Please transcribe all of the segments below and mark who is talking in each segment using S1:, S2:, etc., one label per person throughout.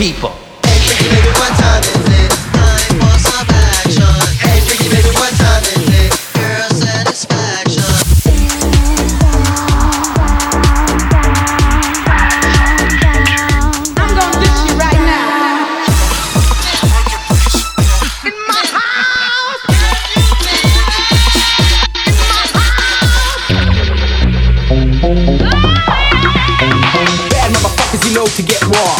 S1: people.
S2: Hey, freaky baby, what time is it? Time for some action. Hey, freaky baby, what time is it? Girl satisfaction.
S3: I'm gonna dish you right now. In my house.
S1: Bad motherfuckers, you know to get raw.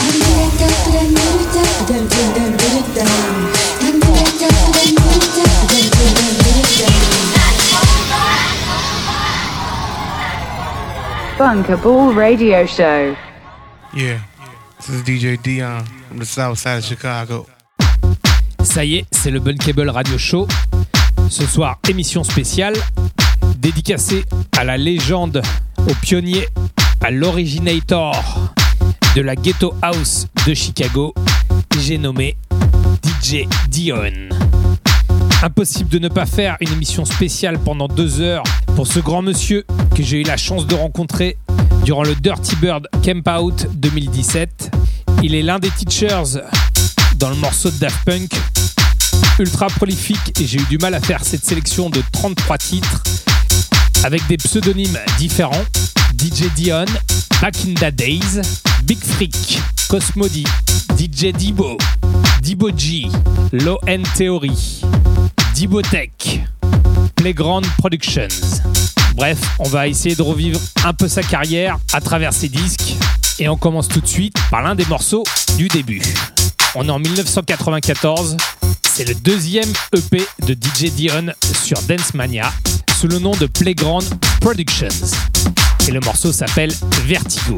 S4: Bunker Ball Radio Show.
S5: Yeah, this is DJ Dion from the south side of Chicago.
S6: Ça y est, c'est le Bunkable Radio Show. Ce soir, émission spéciale dédicacée à la légende, au pionnier, à l'originator de la Ghetto House de Chicago. J'ai nommé DJ Dion. Impossible de ne pas faire une émission spéciale pendant 2 heures pour ce grand monsieur que j'ai eu la chance de rencontrer durant le Dirty Bird Camp Out 2017. Il est l'un des teachers dans le morceau de Daft Punk. Ultra prolifique, et j'ai eu du mal à faire cette sélection de 33 titres avec des pseudonymes différents. DJ Dion, Back in the Days, Big Freak, Cosmody, DJ Debo, Debo G, Low End Theory, Debo Tech, Playground Productions. Bref, on va essayer de revivre un peu sa carrière à travers ses disques. Et on commence tout de suite par l'un des morceaux du début. On est en 1994. C'est le 2e EP de DJ Dion sur Dance Mania sous le nom de Playground Productions. Et le morceau s'appelle Vertigo.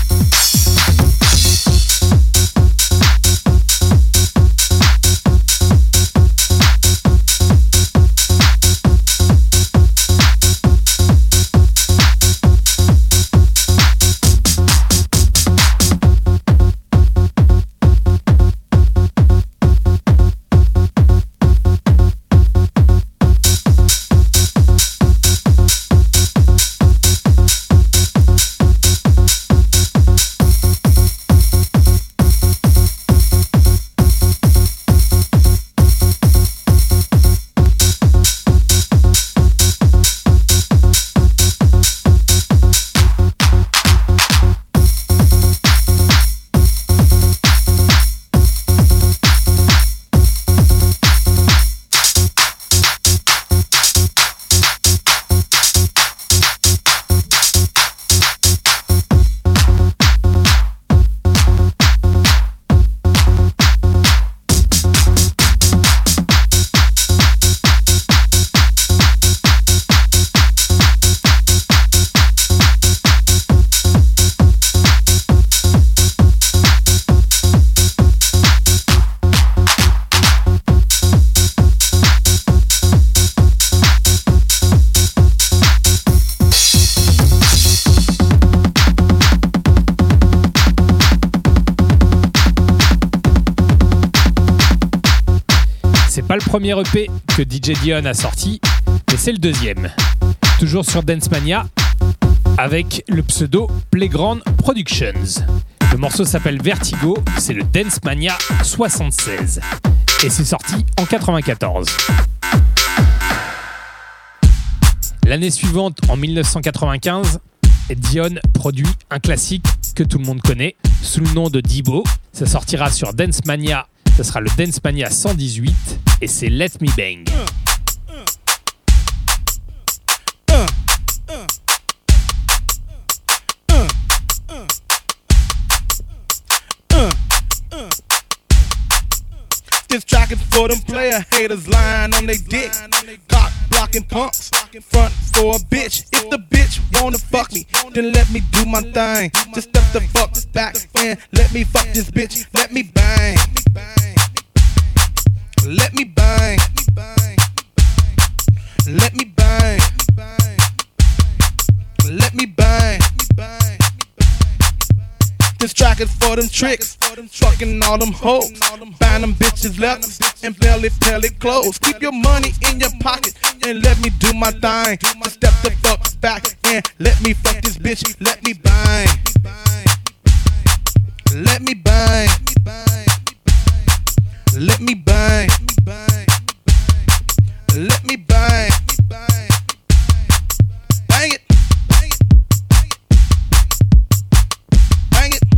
S6: Pas le premier EP que DJ Dion a sorti, mais c'est le 2e. Toujours sur Dance Mania, avec le pseudo Playground Productions. Le morceau s'appelle Vertigo, c'est le Dance Mania 76. Et c'est sorti en 94. L'année suivante, en 1995, Dion produit un classique que tout le monde connaît, sous le nom de Debo. Ça sortira sur Dance Mania. Ce sera le Dance Mania 118 et c'est Let Me Bang.
S5: This track is for them player haters lying on they dick. Cock blocking punks, front for a bitch. If the bitch wanna fuck me, then let me do my thing. Just step the fuck back and let me fuck this bitch. Let me bang. Let me bang. Let me bang. Let me bang. This track is for them tricks, trucking all them hoes, buying them bitches leathers and belly clothes. Keep your money in your pocket and let me do my thing. Just step the fuck back and let me fuck this bitch. Let me bang. Let me bang. Let me bang. Bang it. Bang it.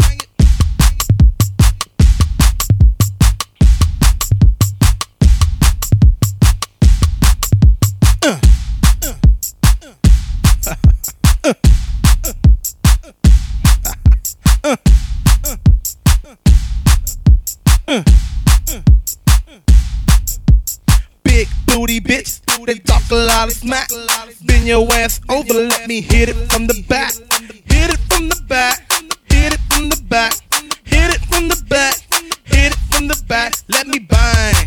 S5: Big booty bitch, they talk a lot of smack. Bend your ass over, let me hit it from the back. Hit it from the back. Hit it from the back. Hit it from the back. Hit it from the back. Let me bang.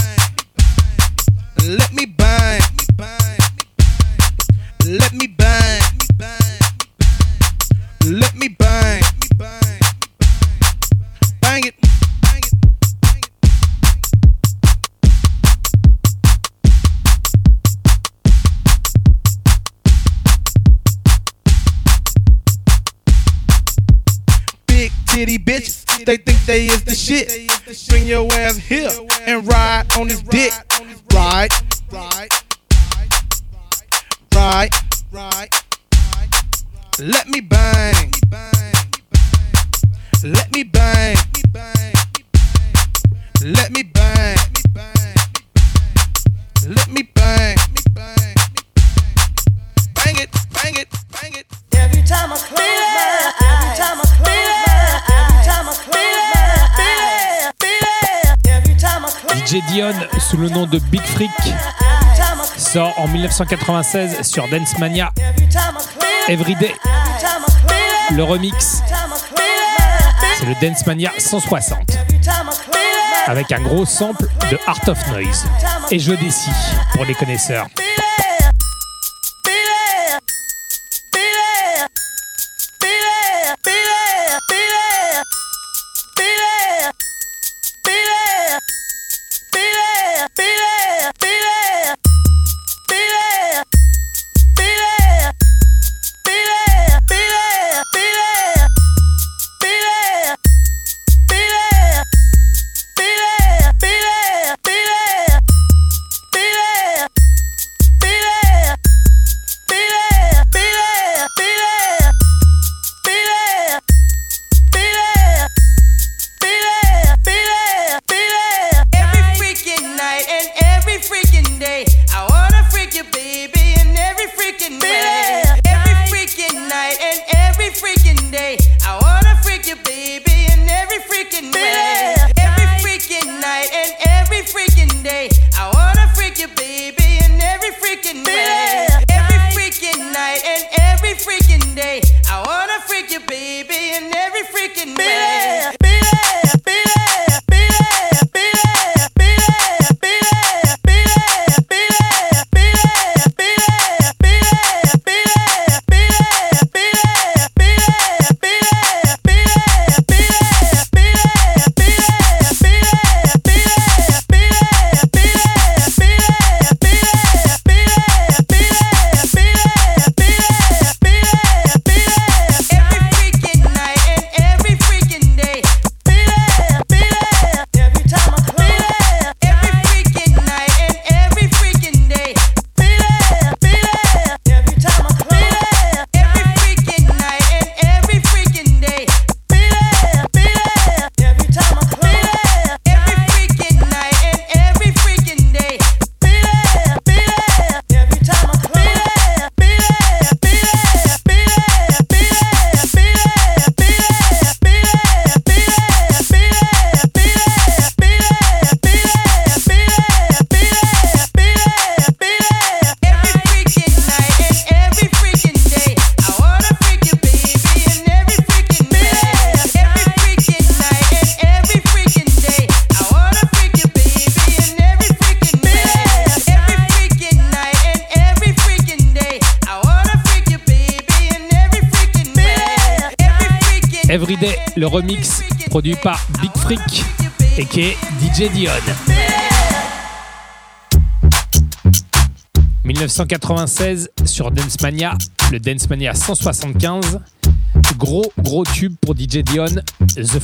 S5: Let me bang. Let me bang. Let me bang. Bang it. Big titty bitches, they think they is the shit. Bring your ass here and ride on his dick. Ride. Let me bang. Let me bang. Let me bang. Let me bang. Bang it, bang it, bang it.
S2: Every time I close my eyes, every time I close my eyes, every time I close my eyes, every time I close
S6: DJ Dion, sous le nom de Big Freak, sort en 1996 sur Dance Mania Everyday. Le remix, c'est le Dance Mania 160, avec un gros sample de Art of Noise et Joe Desi pour les connaisseurs. Everyday, le remix produit par Big Freak et qui est DJ Dion. 1996 sur Dance Mania, le Dance Mania 175. Gros tube pour DJ Dion, The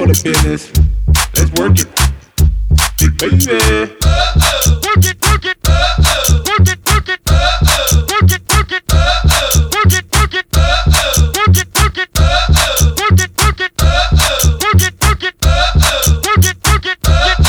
S5: the business. Let's work it. Baby. Work it, work it. Work it, work it. Work it, work it. Work it, work it. Work it, work it. Work it, work it. Work it, work it. Work it, work it.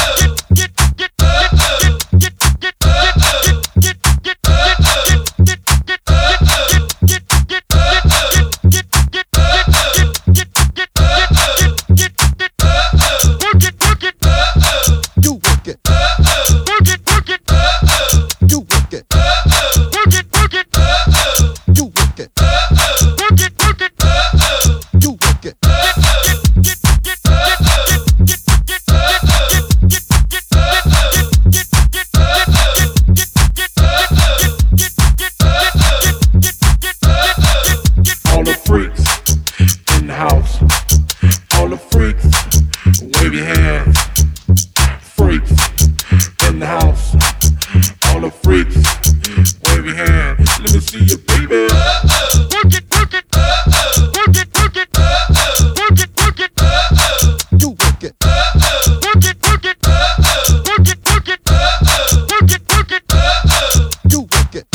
S5: All the freaks in the house. All the freaks, wave your hands. Freaks in the house. All the freaks, wave your hand. Let me see you, baby. Work it, work it. Work it, work it. Work it, work it. You work it. Work it, work it. Work it, work it. Work it, work it. You work it.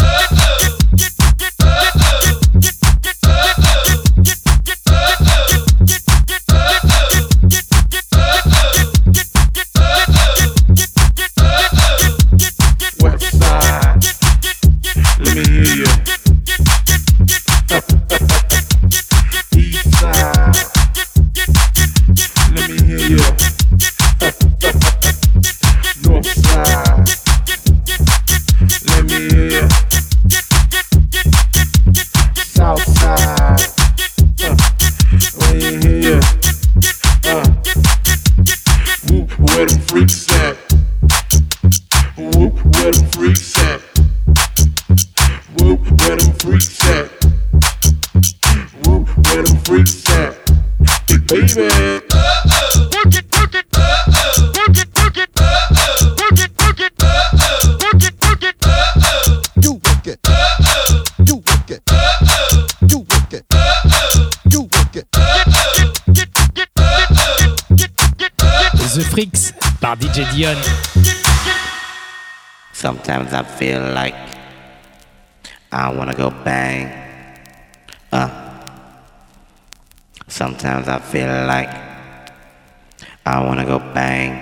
S5: West side, let me hear you. East side, let me hear you. North side, let me hear you. South side, let me hear you. Whoop, where them freaks at? Whoop, where them freaks at? Whoop, where them freaks at? Whoop, where them freaks at? Hey, baby. Work it, work it. Work it, work it. Work it, work it. Work it, work it. You work it. You work it. You work it. You work it.
S6: The Freaks par DJ Dion.
S7: Sometimes I feel like I wanna go bang. Sometimes I feel like I wanna go bang.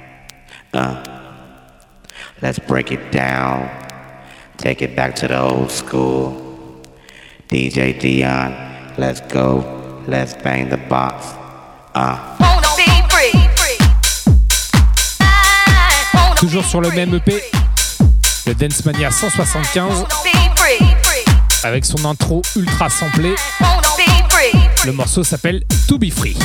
S7: Let's break it down. Take it back to the old school. DJ Dion, let's go. Let's bang the box.
S6: Toujours sur le même EP, le Dance Mania 175, avec son intro ultra samplé. Le morceau s'appelle To Be Free.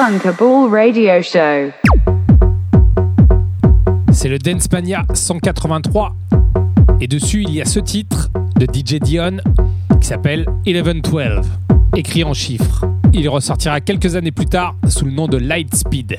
S4: Bunkable Radio Show.
S6: C'est le Dance Mania 183 et dessus il y a ce titre de DJ Dion qui s'appelle 1112, écrit en chiffres. Il ressortira quelques années plus tard sous le nom de Lightspeed.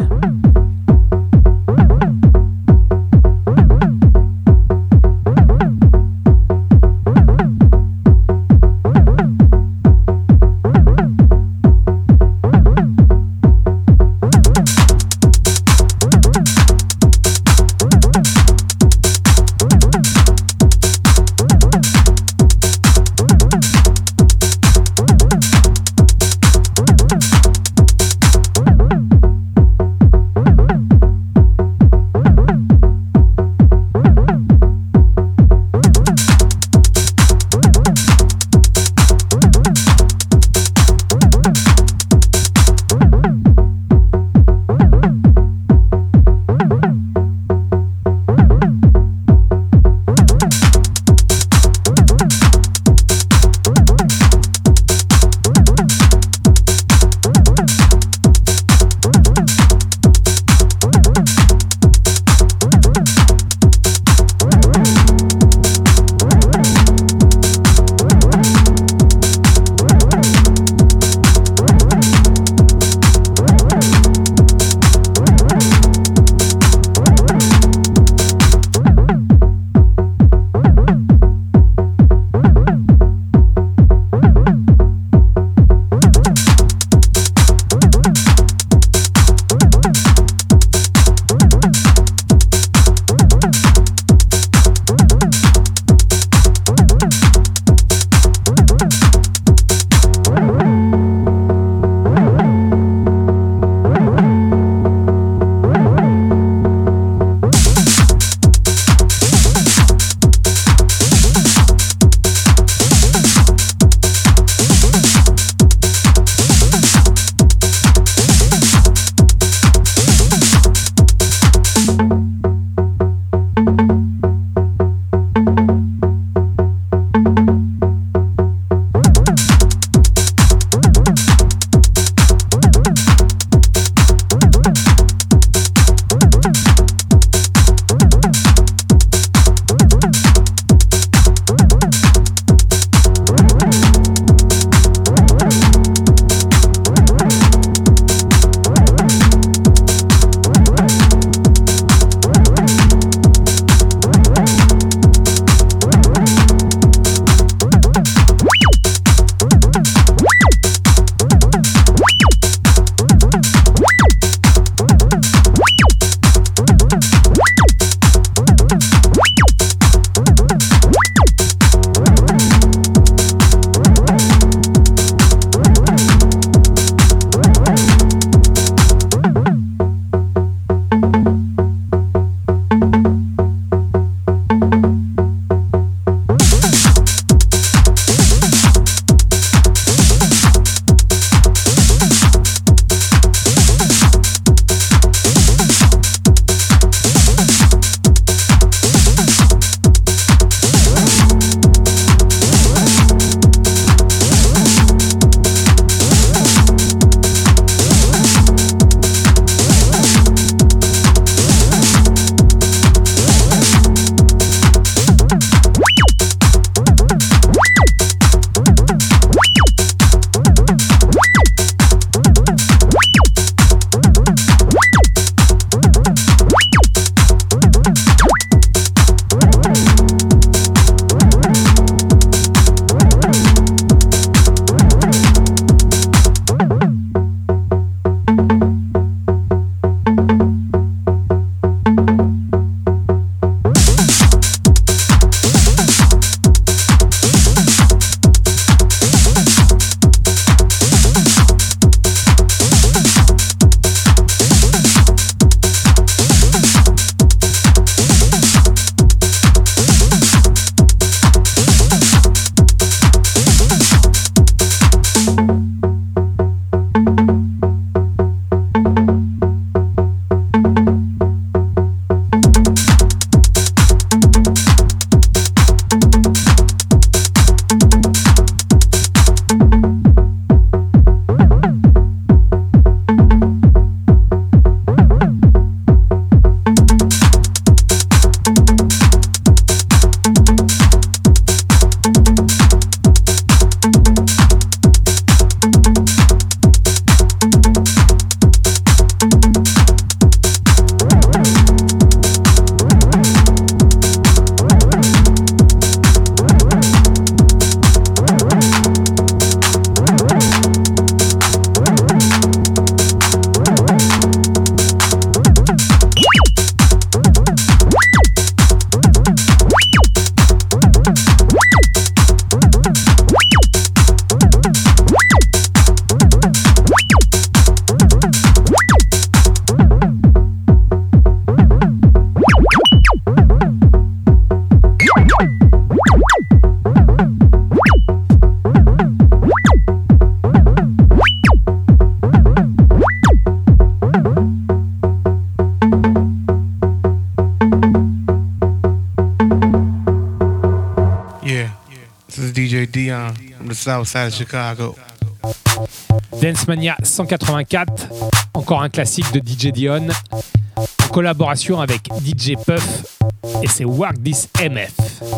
S5: the south side of Chicago.
S6: Dance Mania 184, encore un classique de DJ Dion, en collaboration avec DJ Puff, et c'est Work This MF.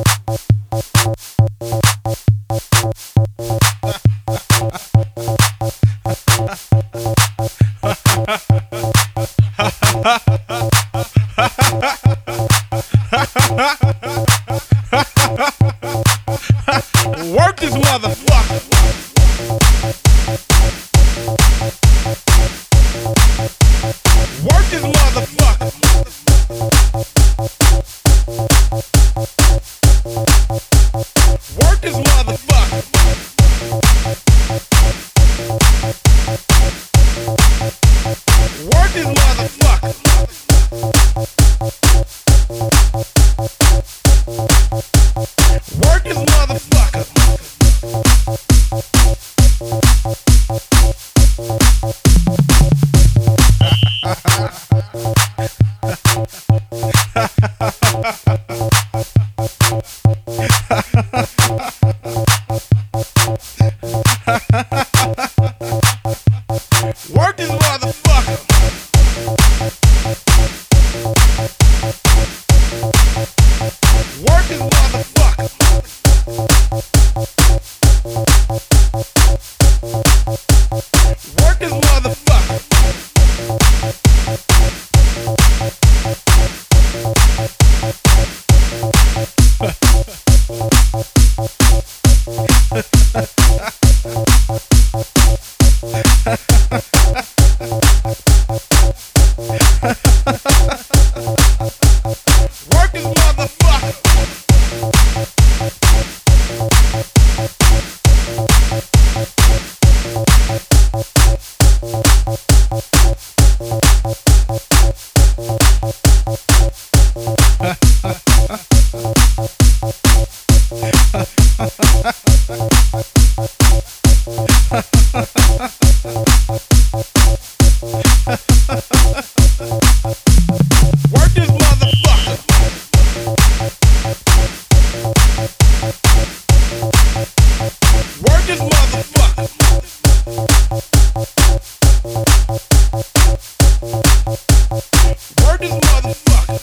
S5: Work this motherfucker. Work this motherfucker. Work this motherfucker. Work this motherfucker. Work this motherfucker. Work this motherfucker. Work this motherfucker. Work this motherfucker. Work this motherfucker. Work this motherfucker. Work this motherfucker. Work this motherfucker.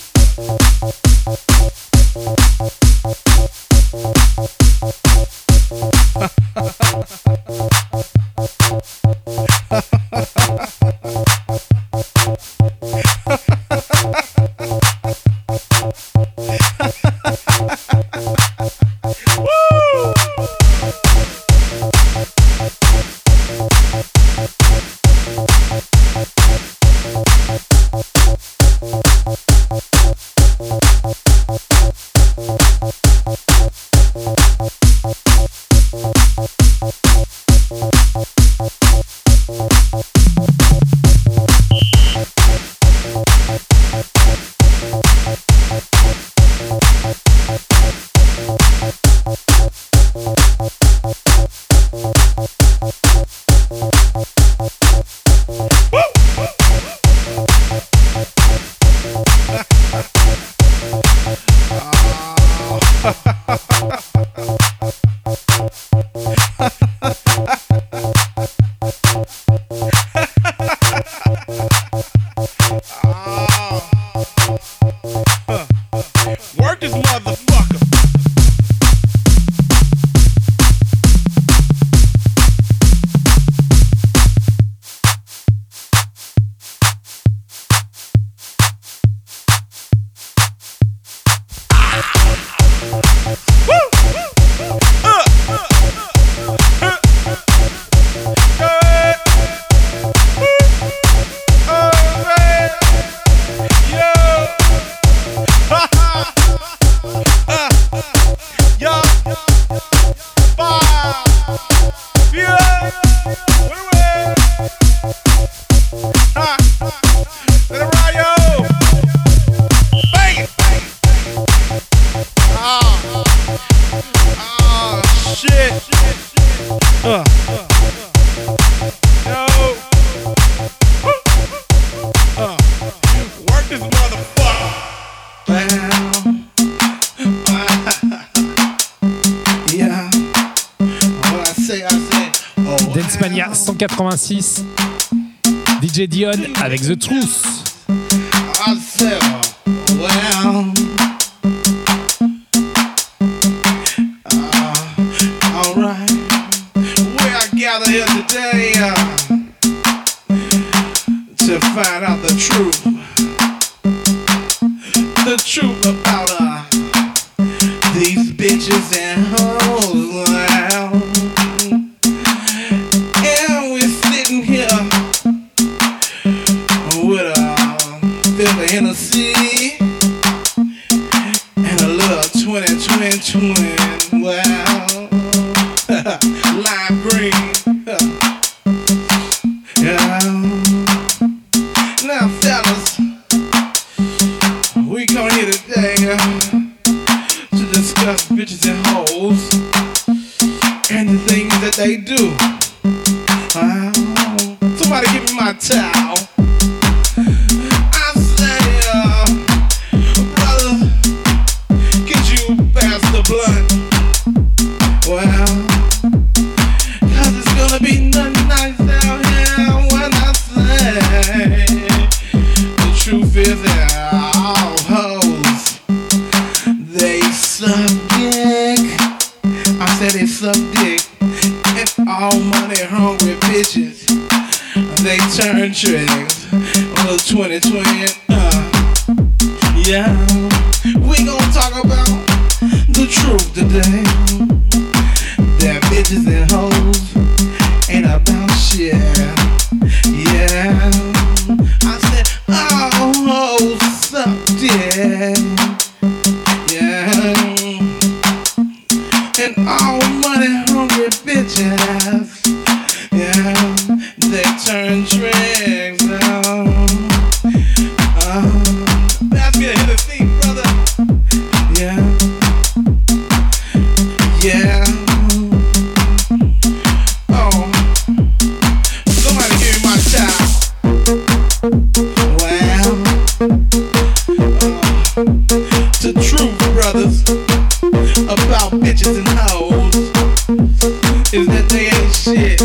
S5: Work this motherfucker.
S6: Dance Mania 186. DJ Dion avec The Truth.
S5: I said, well, all right. I gather here today to find out the truth about these bitches and hoes. And we're sitting here with a fifth of Hennessy and a little 20. Well, lime green. Yeah. Now, fellas, we come here today to discuss bitches and hoes and the things that they do. Somebody give me my towel. I say, brother, could you pass the blunt? Well, 'cause it's gonna be nothing nice down here when I say the truth is that all hoes, they suck dick. I said they suck dick. And all money hungry bitches, they turn tricks on the 2020. Yeah, we gon' talk about the truth today. That bitches and hoes ain't about shit. Yeah, I said all hoes suck dick. Yeah, and all money hungry bitches, yeah, they turn tricks. That's me to hit the seat, brother. Yeah, yeah. Oh, somebody give me my child. Well, the truth, brothers, about bitches and hoes is that they ain't shit.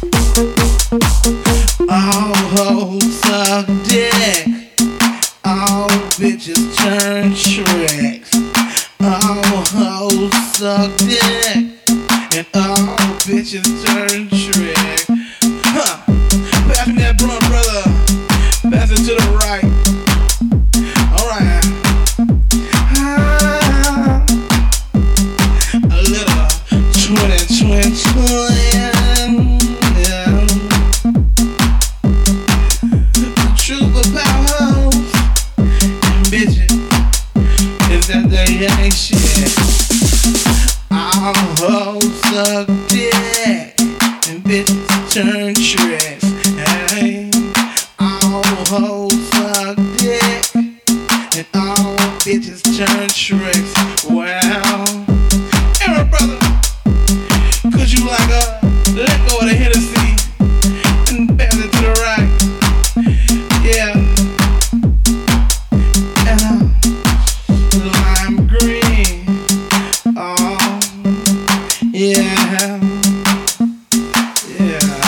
S5: All hoes suck dick. All bitches turn tricks. All hoes suck dick. And all bitches turn tricks. Huh. Pass me that blunt, brother. Pass it to the right. Alright. A little 20. Yeah. The truth about hoes and bitches is that they ain't shit. All hoes suck dick and bitches turn tricks. Hey, all hoes suck dick and all bitches turn tricks. Well, hey, brother, could you like let go of the Hennessy and pass it to the right? Yeah. And lime green. Oh, yeah. Yeah.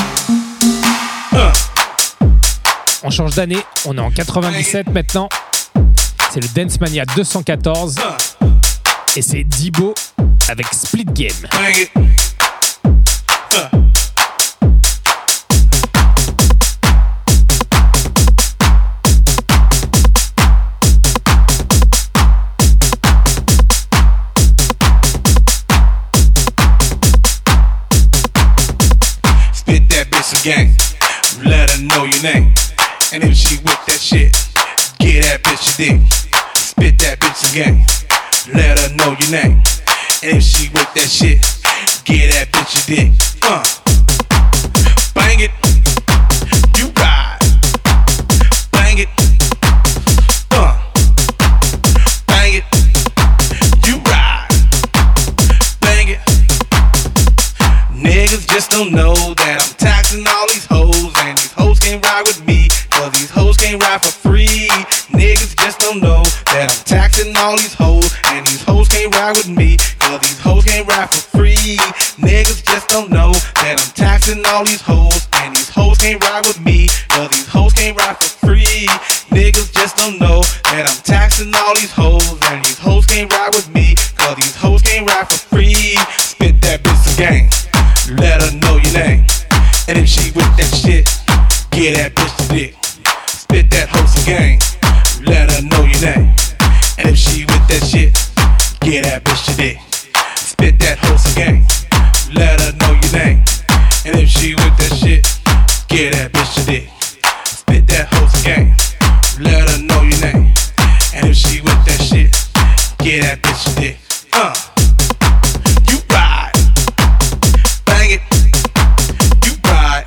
S6: On change d'année, on est en 97 maintenant. C'est le Dance Mania 214 et c'est Dibo avec Split Game.
S5: Bang it. Spit that bitch again. Let her know your name. And if she with that shit, get that bitch your dick. Spit that bitch again. Let her know your name. And if she with that shit, get that bitch your dick. Bang it. You ride. Bang it. Bang it. You ride. Bang it. Niggas just don't know that I'm taxing all these hoes, and these hoes can't ride with me, 'cause these hoes can't ride for free. Niggas just don't know that I'm taxing all these hoes, and these hoes can't ride with me, 'cause these hoes can't ride for free. Niggas just don't know that I'm taxing all these hoes, and these hoes can't ride with me, cause these hoes can't ride for free. Niggas just don't know that I'm taxing all these hoes, and these hoes can't ride with me, cause these hoes can't ride for free. Spit that bitch some game, let her know your name, and if she with that shit, get that bitch the dick. Spit that hoe some game, let her know your name, and if she with that shit, get that bitch the dick. Spit that hoe some game, let her know your name, and if she with that shit, get that bitch the dick. Spit that hoe some game, let her know your name, and if she with that shit, get that bitch the dick. You ride, bang it. You ride,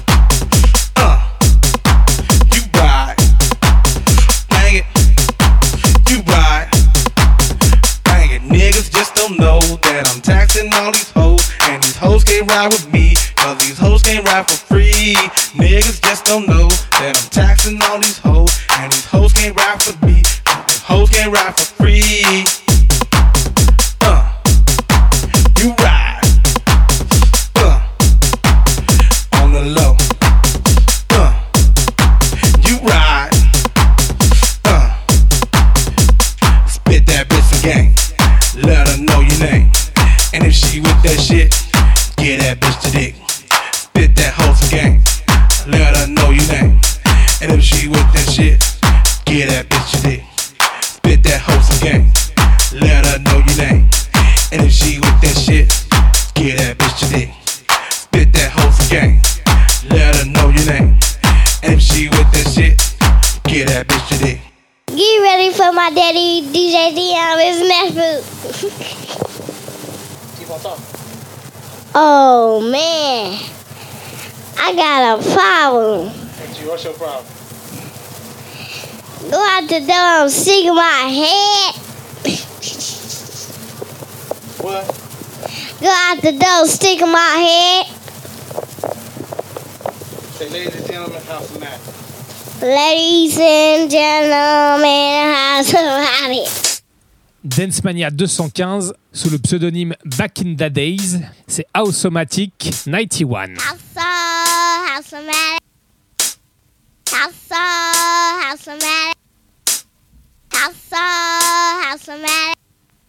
S5: you ride, bang it. You ride, bang it. Niggas just don't know that I'm taxing all these hoes, and these hoes can't ride with me, cause these hoes can't ride for free. Niggas just don't know that I'm taxing all these hoes, and these hoes can't ride for me, cause these hoes can't ride for free. You ride, on the low. You ride, spit that bitch some game, let her know your name, and if she with that shit, get that bitch the dick. Spit that hoe some game, let her know your name, and if she with that shit, get that bitch the dick. Spit that hoe some game, let her know your name, and if she with that shit, get that bitch the dick. Spit that hoe some game, let her know your name, and if she with that shit, get that bitch the dick.
S8: Get ready for my daddy, DJ Dion, with Smash Food.
S5: Keep on talking.
S8: Oh, man. I got a problem.
S5: What's your problem?
S8: Go out the door, I'm sick of my head.
S5: What?
S8: Go out the door, stick in my head.
S5: Say, ladies and gentlemen, how's the matter?
S8: Ladies and gentlemen, how's about it?
S6: Dancemania 215 sous le pseudonyme Back in the Days, c'est Houseomatic 91.
S8: Houseomatic. Houseomatic. Houseomatic.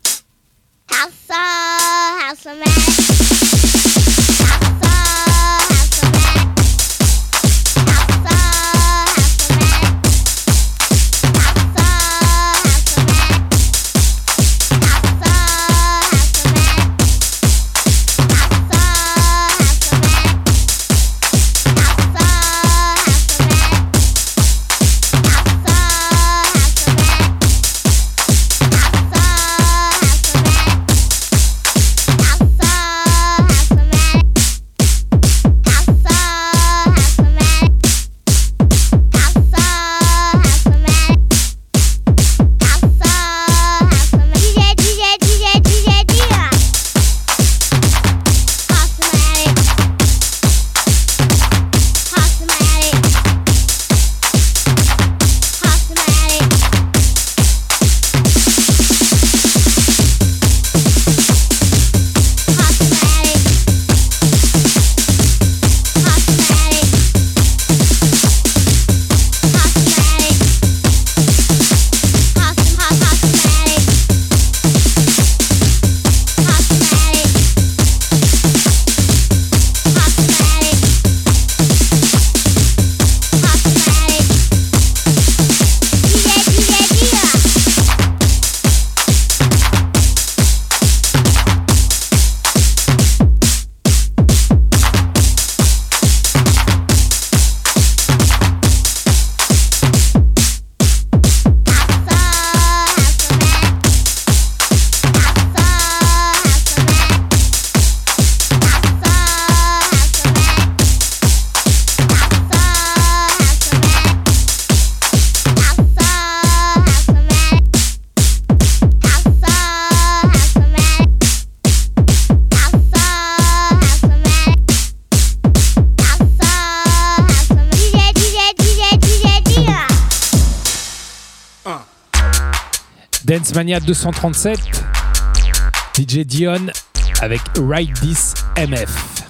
S6: Dancemania 237, DJ Dion avec Ride This MF.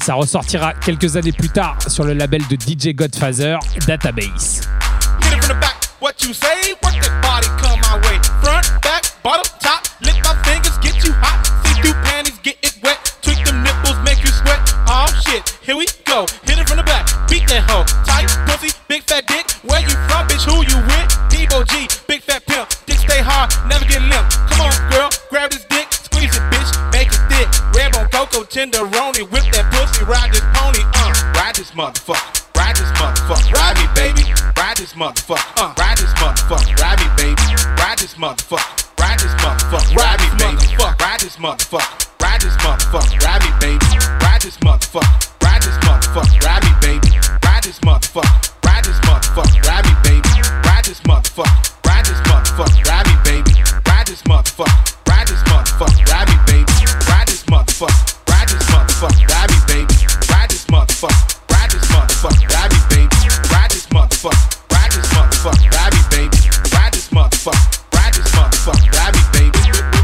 S6: Ça ressortira quelques années plus tard sur le label de DJ Godfather, Database.
S5: Hit it from the back, what you say? Work that body, come my way. Front, back, bottom, top, lick my fingers, get you hot. See through panties, get it wet. Tweak them nipples, make you sweat. Oh shit, here we go. Hit it from the back, beat that hoe. Tight pussy, big fat dick. Where you from, bitch? Who you with? Debo G, big fat pimp. Dick stay hard, never get limp. Come on, girl, grab this dick, squeeze it, bitch, make it thick. Red on cocoa, tenderoni, whip that pussy, ride this pony, ride this motherfucker. Ride this motherfucker, ride me, baby. Ride this motherfucker, ride this motherfucker, ride me, baby. Ride this motherfucker, ride this motherfucker, ride me, baby. Ride this motherfucker, ride this motherfucker, ride me, baby. Ride this motherfucker, ride this motherfucker, ride me, baby. Ride this motherfucker, ride this motherfucker, ride me, baby. Ride this motherfucker, ride this motherfucker, ride me, baby. Ride this motherfucker, ride this motherfucker, ride me, baby. Ride this motherfucker, ride this motherfucker, ride me, baby. Ride this motherfucker. Ride this motherfucker, ride me, baby. Ride this motherfucker, ride this motherfucker, ride me, baby. Ride this motherfucker, ride this motherfucker, ride me, baby.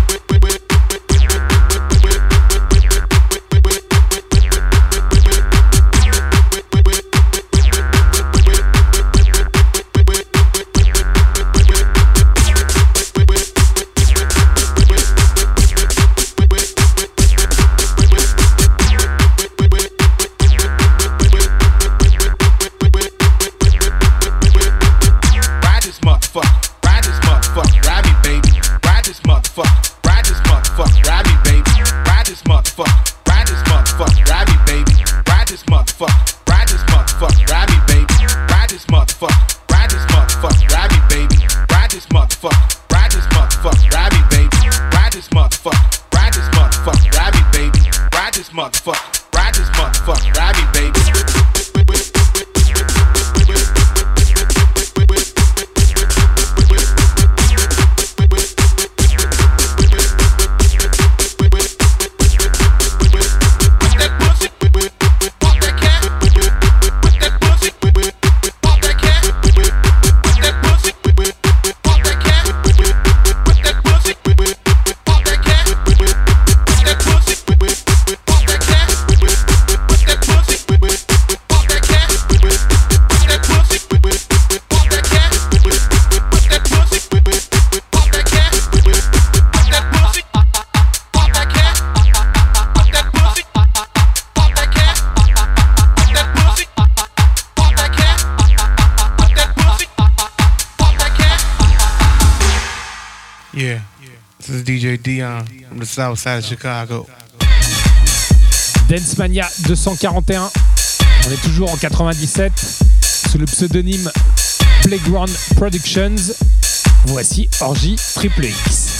S5: Yeah, this is DJ Dion from the south side of Chicago.
S6: Dance Mania 241, on est toujours en 97, sous le pseudonyme Playground Productions. Voici Orgy Triple X.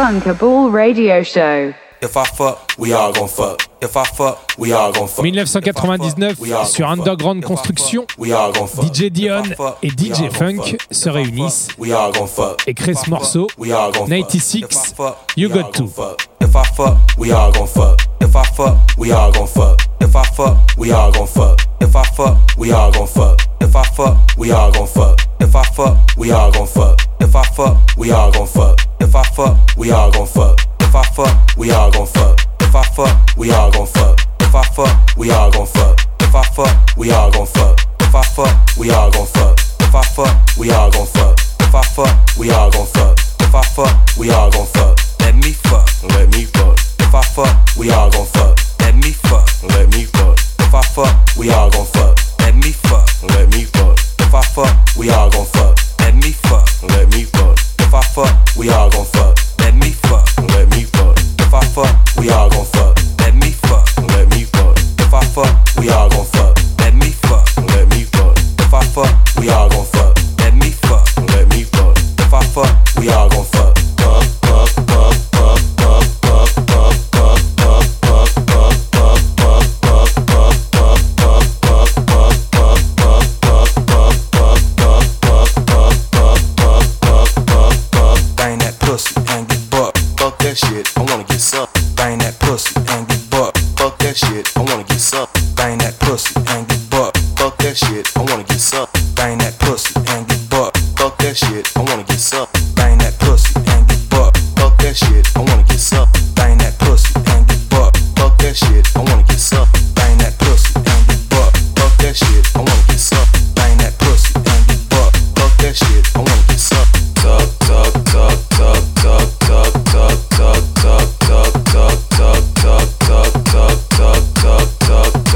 S4: Funkable Radio Show.
S1: If I fuck, we all gon' fuck. If I fuck, we all gon' fuck.
S6: 1999, sur Underground Construction, DJ Dion et DJ Funk se réunissent et créent ce morceau 96, You Got To.
S1: If I fuck, we all gon' fuck. If I fuck, we all gon' fuck. If I fuck, we all gon' fuck. If I fuck, we all gon' fuck. If I fuck, we all gon' fuck. If I fuck, we all gon' fuck. If I fuck, we all gon' fuck. If I fuck, we all gon' fuck. If I fuck, we all gon' fuck. If I fuck, we all gon' fuck. If I fuck, we all gon' fuck. If I fuck, we all gon' fuck. If I fuck, we all gon' fuck. If I fuck, we all gon' fuck. If I fuck, we all gon' fuck. If I fuck, we all gon' fuck. Let me fuck. Let me fuck. If I fuck, we all gon' fuck. Let me fuck. Let me fuck. If I fuck, we all gon' fuck. Let me fuck. Let me fuck. If I fuck, we all gon' fuck. Let me fuck. Let me fuck. If I fuck, we all gon' fuck. Let me fuck. Let me fuck. If I fuck, we all gon' fuck. Let me fuck. Let me fuck. If I fuck, we all gon' fuck. Let me fuck. Let me fuck. If I fuck, we all gon' fuck. Let me fuck. Let me fuck. If I fuck, we all gon' fuck. Shit, I wanna get sucked. Bang that pussy and get bucked. Fuck that shit, I wanna get sucked. Bang that pussy and get bucked. Fuck that shit, I wanna get sucked. Bang that pussy and get bucked. Fuck that shit, I wanna get sucked. Bang that pussy and get bucked. Fuck that shit, I wanna get sucked. Bang that pussy and get bucked. Fuck that shit, I wanna get sucked. Bang that pussy and get bucked. Fuck that shit, I wanna get sucked. Bang that pussy and get bucked. Fuck that shit, I wanna get sucked. Suck, suck, suck, suck, suck, suck, suck, suck, suck, suck, suck, suck, suck, suck, suck, suck, suck, suck.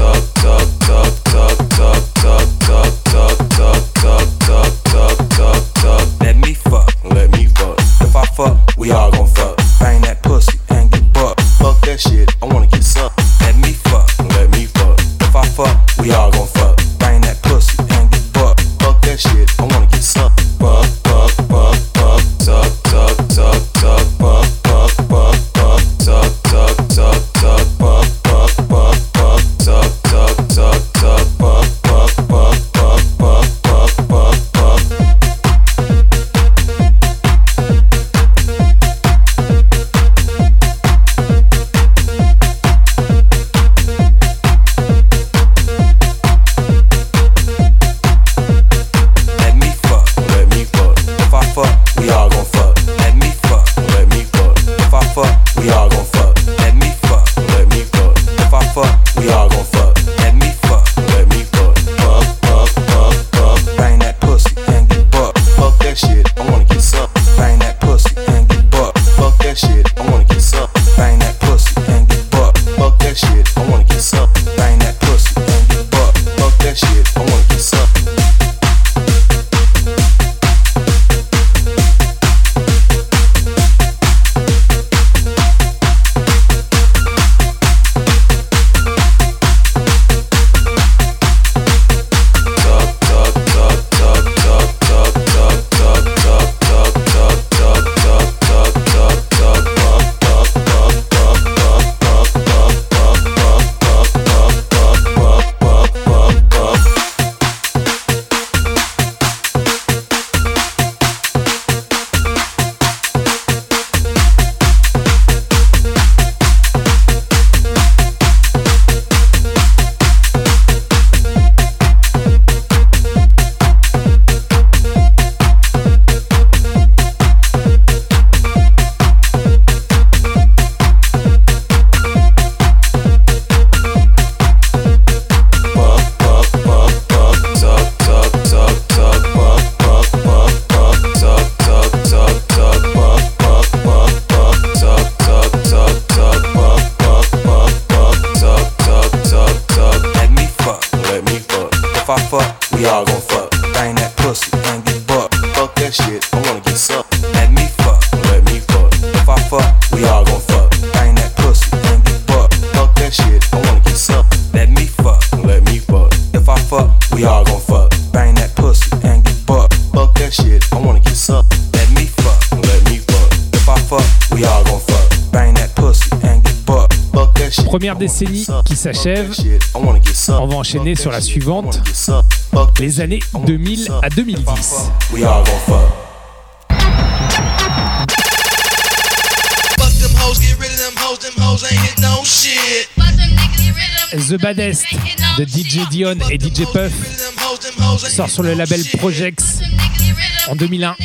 S6: Première décennie qui s'achève, on va enchaîner sur la suivante, les années 2000 à 2010.
S1: We all gon' fuck.
S6: The Baddest de DJ Dion et DJ Puff sort sur le label Projects en 2001.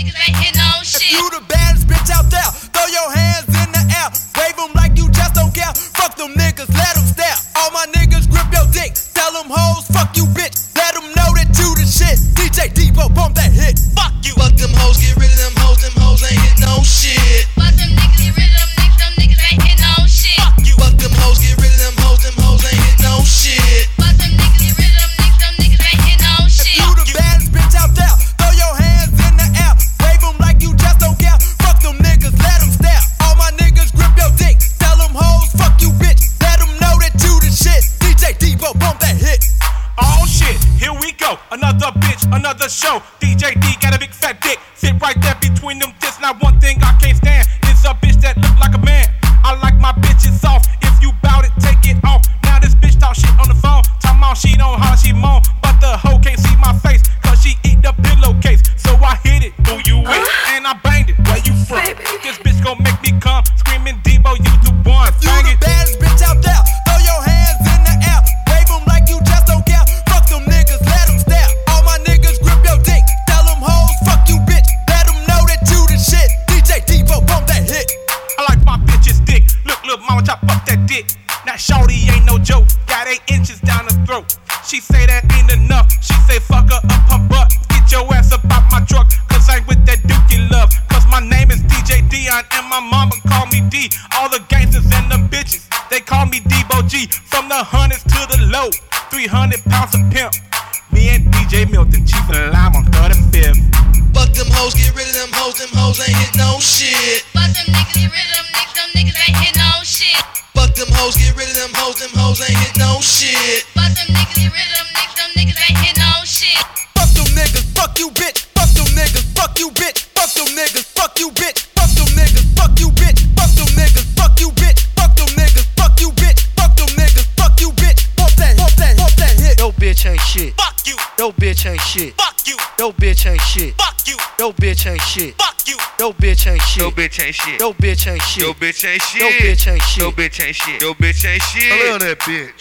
S9: You the baddest bitch out there, throw your hands in the air, wave them like you just don't care, fuck them niggas, let them stare, all my niggas grip your dick, tell them hoes, fuck you bitch, let them know that you the shit, DJ Debo, bump that hit, fuck you, fuck them hoes, get rid of them hoes ain't hit no shit, fuck them niggas, get rid of them niggas ain't hit no shit, fuck you, fuck them hoes, get rid of them hoes ain't hit no shit, fuck them niggas, get rid of them niggas ain't hit no shit, you the baddest bitch out there, throw your hands in the air, wave them like you just don't care, fuck them niggas, let them stare, all my niggas grip your dick, tell them hoes, fuck you bitch, let them know that you the shit, DJ Debo, bump that hit.
S10: Oh shit, here we go, another bitch, another show, DJ D got a big fat dick, sit right there between them tits, not one thing I can't stand, it's a bitch that look like a man, I like my bitches soft, if you bout it, take it off, now this bitch talk shit on the phone, talking about she don't holler, she moan, but the hoe can't see my face, cause she eat the pillowcase, so I hit it, who you with, and I banged it, where you from, this bitch gon' make me come, screaming Debo, you the one, bang
S9: you
S10: it.
S9: the baddest bitch out there, throw your hands in the air, wave them like you just don't care, fuck them niggas, let them stare, all my niggas grip your dick, tell them hoes, fuck you bitch, let them know that you the shit, DJ Debo, bump that hit.
S10: I like my bitch's dick. Look, mama, chop up that dick. Now, shorty ain't no joke. Got 8 inches down the throat. She say that ain't enough. She say fuck her up her butt. Get your ass up out my truck. Cause I ain't with that dookie love. Cause my name is DJ Dion and my mama call me D. All the gangsters and the bitches, they call me Debo G. From the hundreds to the low. 300 pounds of pimp. Me and DJ Milton, chief of the lime on 35th.
S9: Fuck them hoes, get rid of them hoes ain't hit no shit.
S11: Fuck them niggas, get rid of them niggas ain't hit no shit.
S9: Fuck them hoes, get rid of them hoes ain't hit no shit.
S11: Fuck them niggas, get rid of them niggas ain't hit no shit.
S9: Fuck them niggas, fuck you bitch. Fuck them niggas, fuck you bitch. Fuck them niggas, fuck you bitch. Fuck them niggas, fuck you bitch. Fuck them niggas, fuck you bitch. Fuck them niggas, fuck you bitch. Fuck them niggas, fuck you bitch. Bump that hit.
S12: Yo bitch ain't shit.
S10: Fuck you.
S12: Yo bitch ain't shit.
S10: Fuck you.
S12: Yo bitch ain't shit.
S10: Fuck you.
S12: Yo bitch ain't shit.
S10: Fuck you.
S12: Yo bitch ain't shit.
S13: Yo bitch ain't shit.
S12: Yo bitch ain't shit.
S13: Yo bitch ain't shit.
S12: Yo bitch ain't shit.
S13: Yo bitch ain't shit. Yo bitch ain't shit. I love that bitch.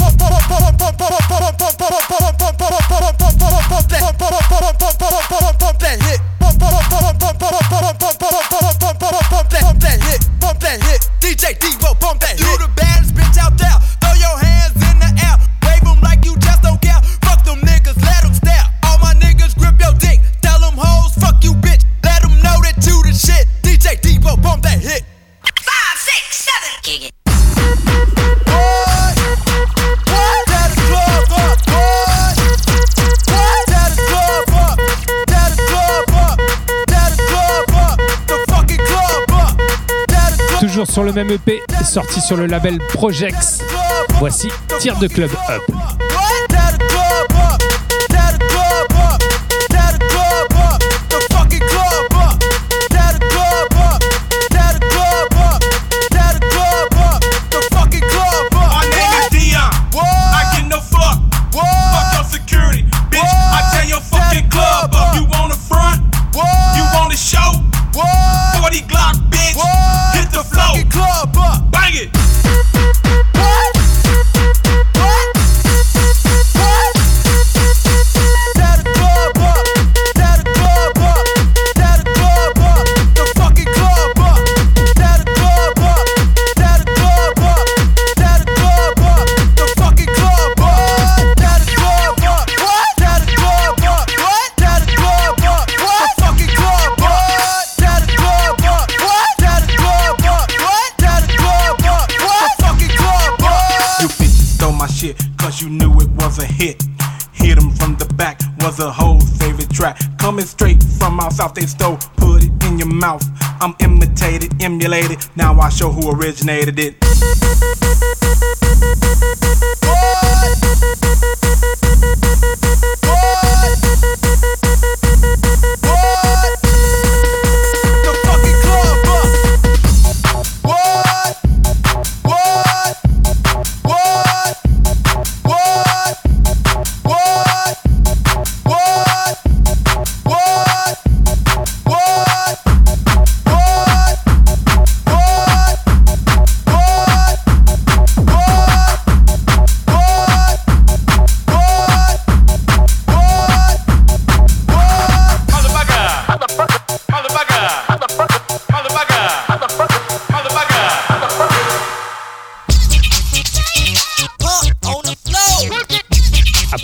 S9: Bump that hit. Bump that hit. DJ Debo, bump that hit. You the baddest bitch out there. Throw your hands in the air. Wave them like you just don't care. Fuck them niggas, let them stare. All my niggas grip your dick. Tell them hoes, fuck you bitch. Let them know that you the shit. DJ Debo, bump that hit.
S11: 5, 6, 7, kick it.
S6: Toujours sur le même EP, sorti sur le label Projects. Voici Tir de Club Up.
S10: Coming straight from our south, they stole, put it in your mouth. I'm imitated, emulated, now I show who originated it.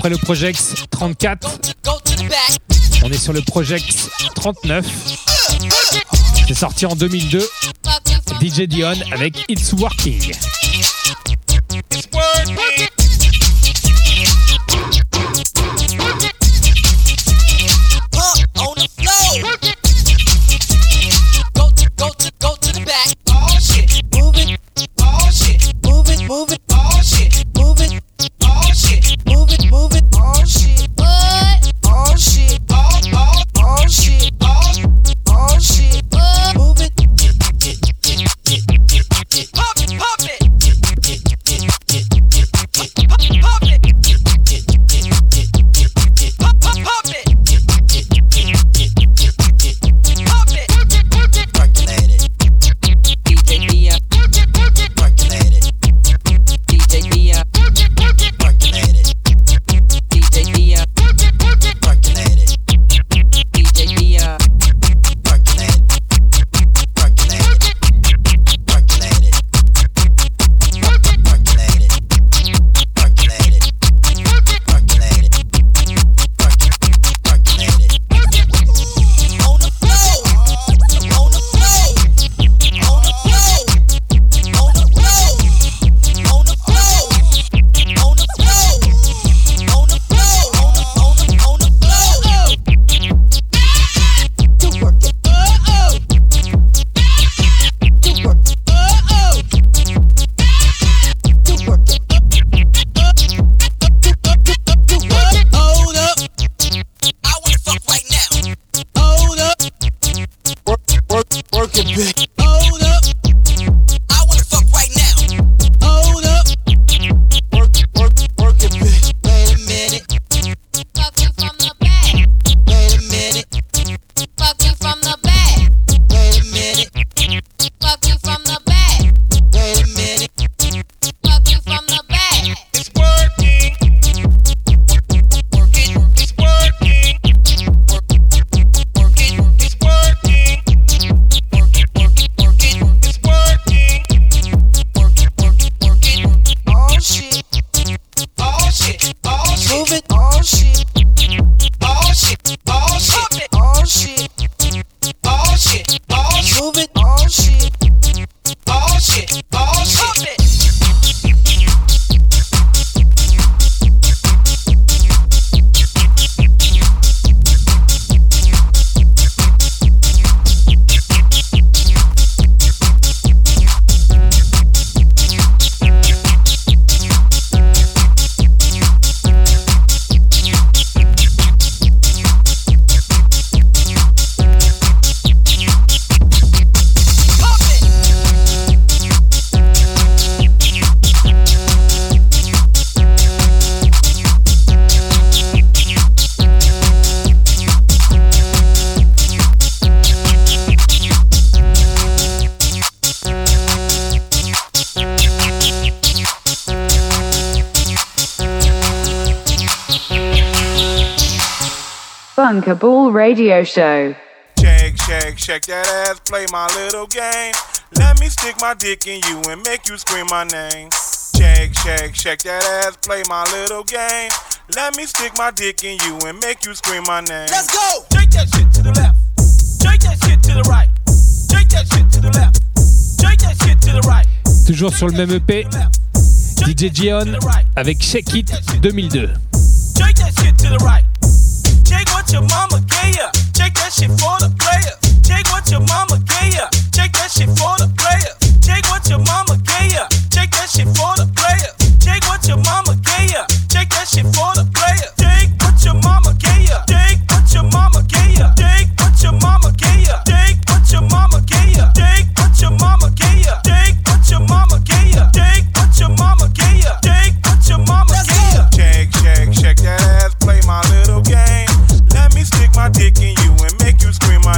S6: Après le Project 34, on est sur le Project 39. C'est sorti en 2002. DJ Dion avec It's Working.
S10: It's working.
S9: On the floor. Go to the back. Oh shit, move it. Oh shit, move it. Oh shit, move it. Oh shit, move it. Oh shit, what? Oh shit, oh shit, oh shit, move it. Pop it. Pop it.
S4: Bunkable Radio Show.
S10: Shake that ass, play my little game. Let me stick my dick in you and make you scream my name. Shake that ass, play my little game. Let me stick my dick in you and make you scream my name.
S9: Let's go!
S10: Shake that shit to the left. Shake that shit to the right. Shake that shit to the left. Shake that shit to the right.
S6: Toujours sur le même EP, DJ Dion avec Shake It 2002.
S10: Shake that shit to the right. Shake what your mama gave ya. Shake that shit for the player. Shake what your mama gave ya. Shake that shit for the player. Shake what your mama gave ya. Shake that shit for the player. Shake what your mama gave ya. Shake that shit for the player. Shake what your mama gave ya. Shake what your mama gave ya. Shake what your mama gave ya. Shake what your mama gave ya. Shake what your mama gave ya. Shake what your mama gave ya. Shake what your mama gave ya. Shake what your mama gave ya. Shake that ass, play my little game. Let me stick my dick in you and make you scream my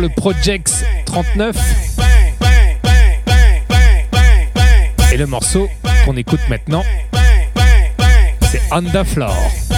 S6: le Projects 39. Et le morceau qu'on écoute maintenant, c'est On the Floor.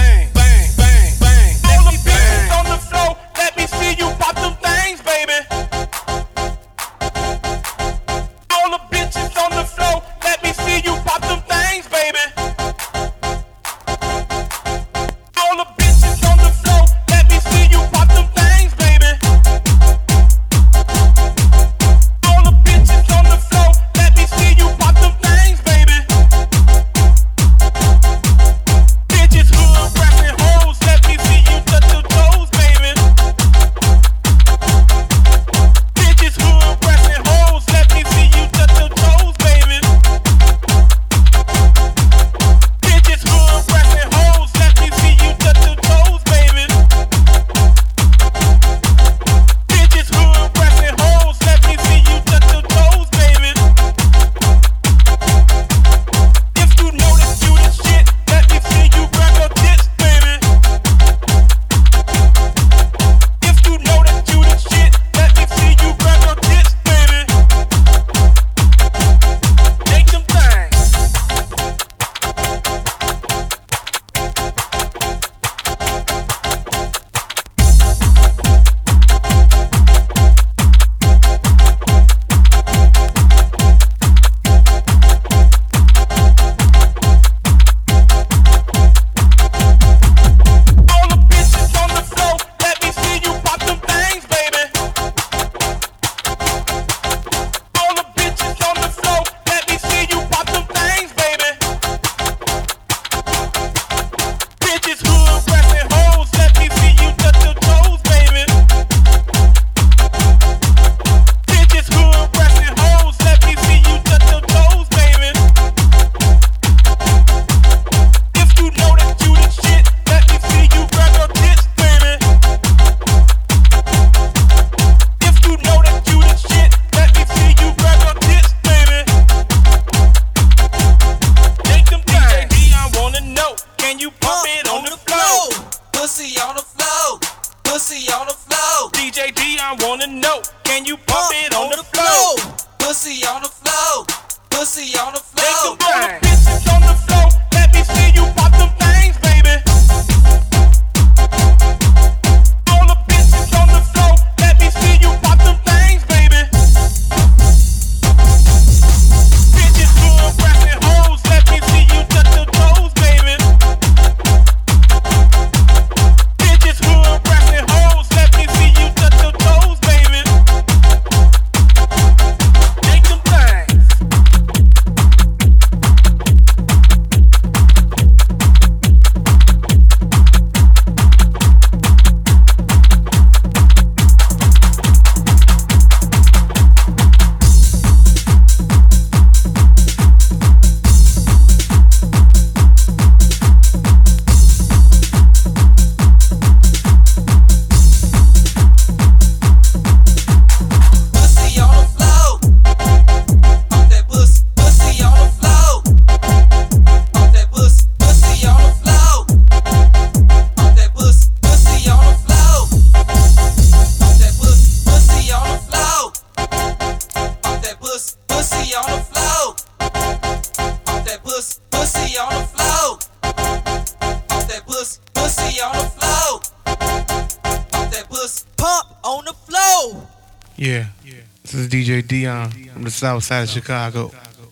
S5: Yeah. This is DJ Dion from the south side of Chicago.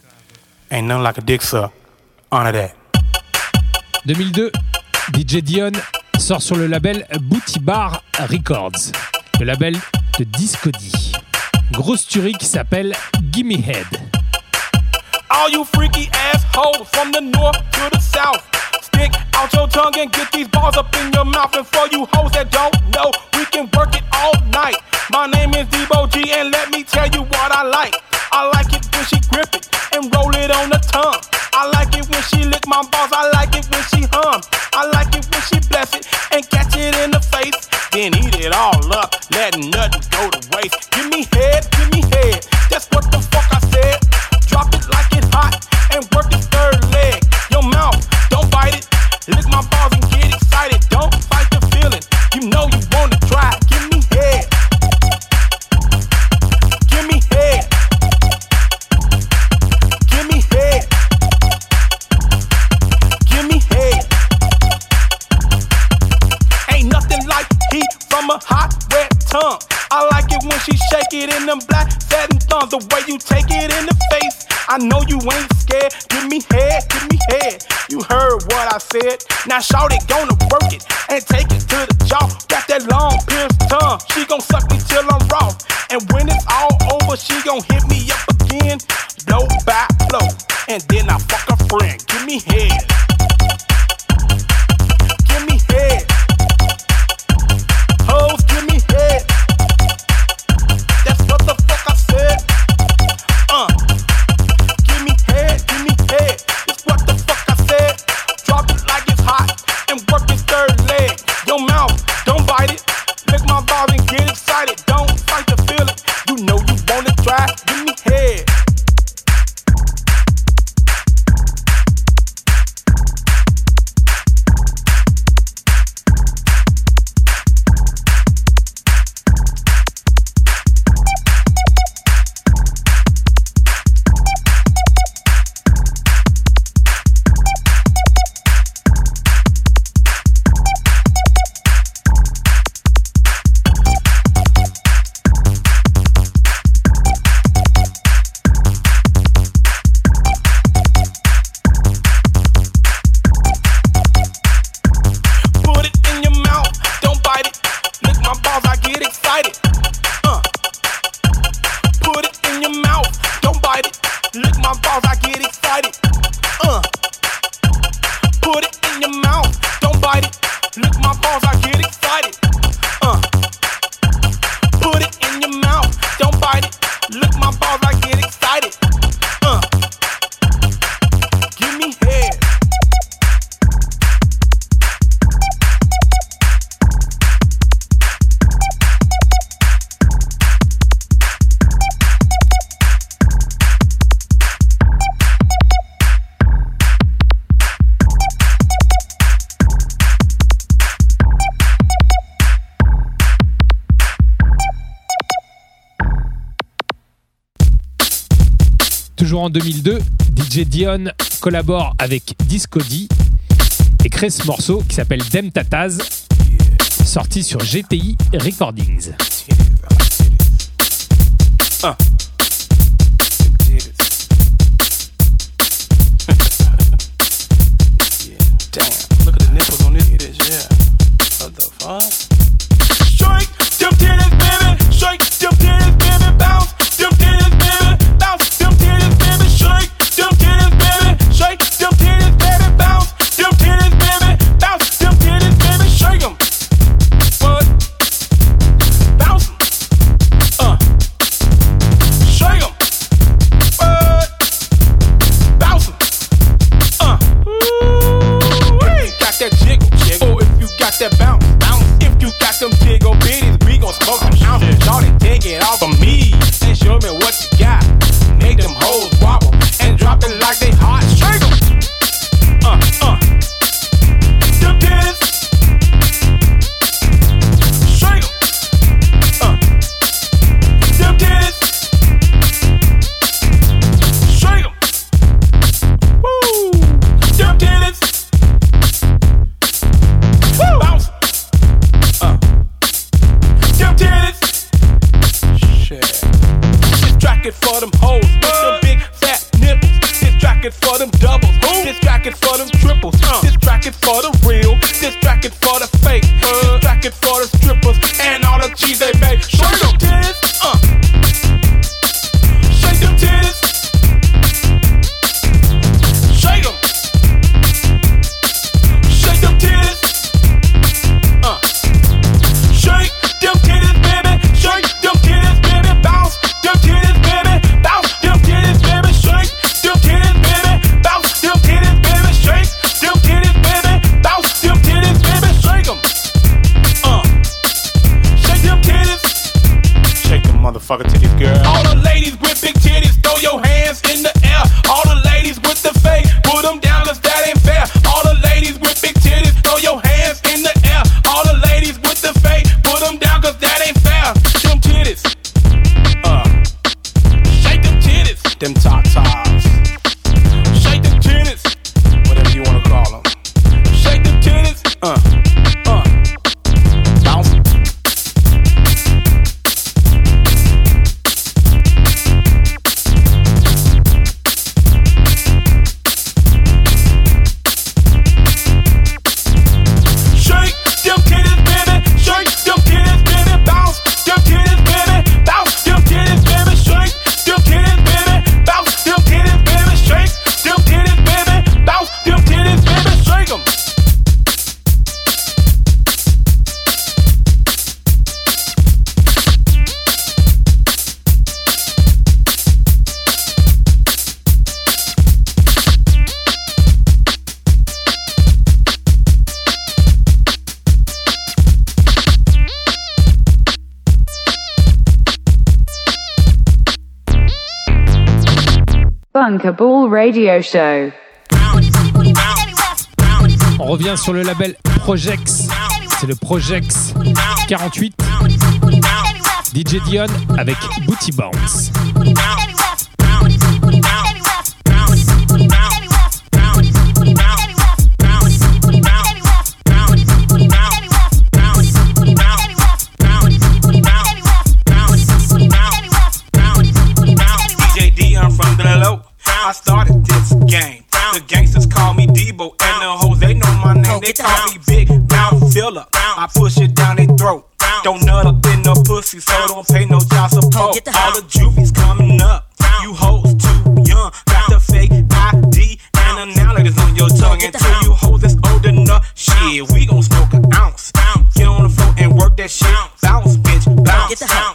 S10: Ain't nothing like a dick suck. Honor that.
S6: 2002, DJ Dion sort sur le label Booty Bar Records, le label de Discody. Grosse tuerie qui s'appelle Gimme Head.
S10: All you freaky assholes from the north to the south, stick out your tongue and get these balls up in your mouth. And for you hoes that don't know, we can work it all night. My name is Debo G and let me tell you what I like. I like it when she grip it and roll it on the tongue. I like it when she lick my balls, I like it when she hum. I like it when she bless it and catch it in the face. Then eat it all up, letting nothing go to waste. Give me head, that's what the fuck I said. Drop it like it's hot and work the third leg. Your mouth, don't bite it. Lick my balls and get excited. Don't fight the feeling. You know you wanna try. Give me head. it in them black satin thumbs, the way you take it in the face. I know you ain't scared. Give me head, give me head. You heard what I said. Now shout it, gonna work it and take it to the jaw. Got that long pierced tongue. She gon' suck me till I'm raw. And when it's all over, she gon' hit me up again, blow by blow. And then I fuck a friend. Give me head. Give me head. Hoes, give me head. That's what the fuck I said. Give me head, give me head. That's what the fuck I said. Drop it like it's hot and work his third leg. Your mouth, don't bite it. Lick my balls and get excited. Don't fight to feel it. You know you wanna try. Give me head.
S6: Toujours en 2002, DJ Dion collabore avec Disco D et crée ce morceau qui s'appelle Dem Tataz, sorti sur GTI Recordings.
S10: Damn, look at the nipples on this bitch, yeah. What the fuck? Shake them titties, baby. Shake them titties, baby. Bounce them titties, baby. Bounce them titties, baby. Shake them titties, baby. Shake them titties, baby. Bounce them titties, baby. Bounce them titties, baby. Shake them. What? Bounce them. Shake them. What? Bounce them. Got that jiggle, jiggle. Or if you got that bounce, bounce. If you got them jiggle bitties, we gon' smoke them ounces. Y'all take it off of me and show me what you got. Make them hoes wobble and drop it like they hot. Shake them. Them titties. Shake them. Them titties. Shake them. Woo. Them titties. Woo. Bounce. Them titties. Shit. This track is for them hoes with them big fat nipples. This track is for them doubles. This track is for them triples. This track is for the real. This track is for the fake. This track is for the strippers and all the cheese they make. Shake them titties. Shake them titties. Shake them. Shake them titties. Shake them titties, baby. Shake them titties, baby. Bounce them titties, baby. Bounce them titties, baby. Shake them titties, baby. Bounce them titties, baby. Shake them titties, baby. Bounce them titties, baby. Shake them. Shake them titties. Shake them motherfucker titties, girl. All the ladies with big titties, throw your hands in the air. All the ladies with the fake, put them down 'cause that ain't fair. All the ladies with big titties, throw your hands in the air. All the ladies with the fake, put them down 'cause that ain't fair. Them titties. Shake them titties. Them tatas. Shake them titties. Whatever you wanna call them. Shake them titties. Bounce.
S4: Bunkable Radio Show.
S6: On revient sur le label Projex. C'est le Projex 48. DJ Dion avec Booty Bounce.
S10: DJ Dion from the low. I started this game. The gangsters call me Debo, and the hoes, they know my name. They call me Big Mouth Filler. I push it down their throat. Don't nut up in no pussy, so don't pay no child support. All the juvies coming up. You hoes too young. Got the fake ID and analogies on your tongue. Until you hoes that's old enough, shit, we gon' smoke an ounce. Get on the floor and work that shit. Bounce, bitch, bounce. Get the house.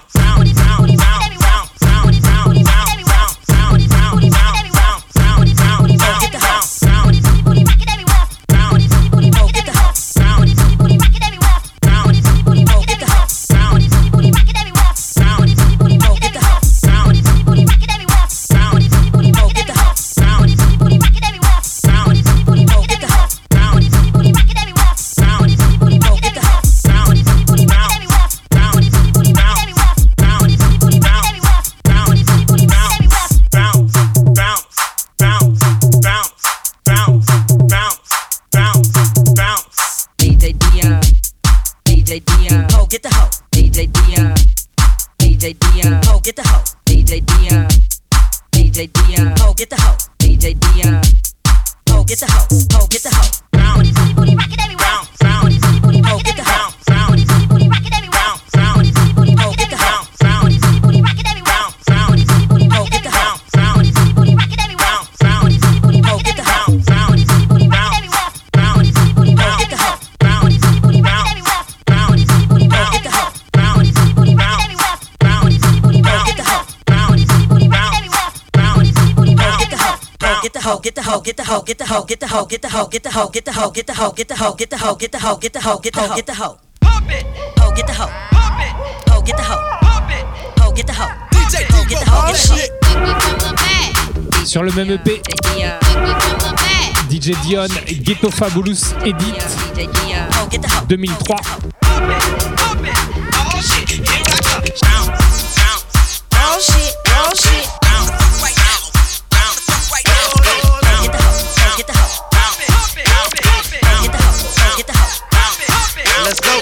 S14: Get the hoe, get the hoe, get the hoe, get the hoe, get the hoe, get the hoe, get the hoe, get the hoe, get the hoe, get the hoe, get the hoe, get the hoe, get the hoe, get the hoe. Pump it. Hoe, get the hoe. Pump it. Hoe, get the hoe. Pump it. Hoe, get the hoe. DJ, get the hoe, get the hoe.
S6: Sur le même EP, DJ Dion Ghetto Fabulous Edit 2003.
S9: Let's go.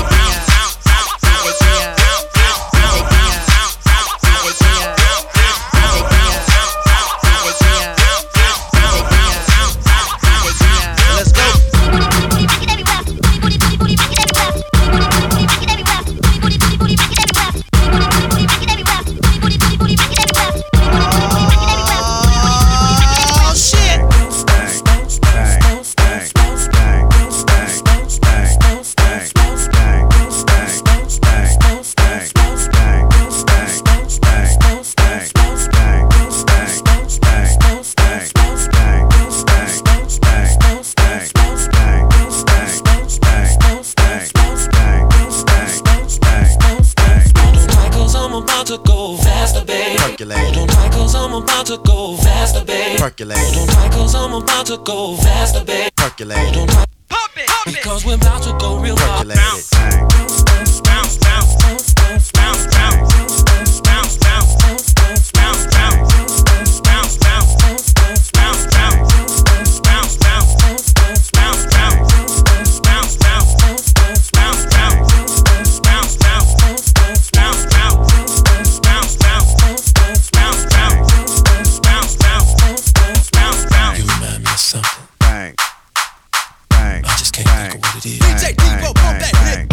S15: Percolate. Don't try cause I'm about to go faster, babe. Percolate. Don't try. Pump it. Because we're about to go real hard. Percolate it. Bounce, bounce, bounce, bounce, bounce, bounce, bounce, bounce, bounce, bounce, bounce, bounce, bounce, bounce, DJ Debo, pump that hit.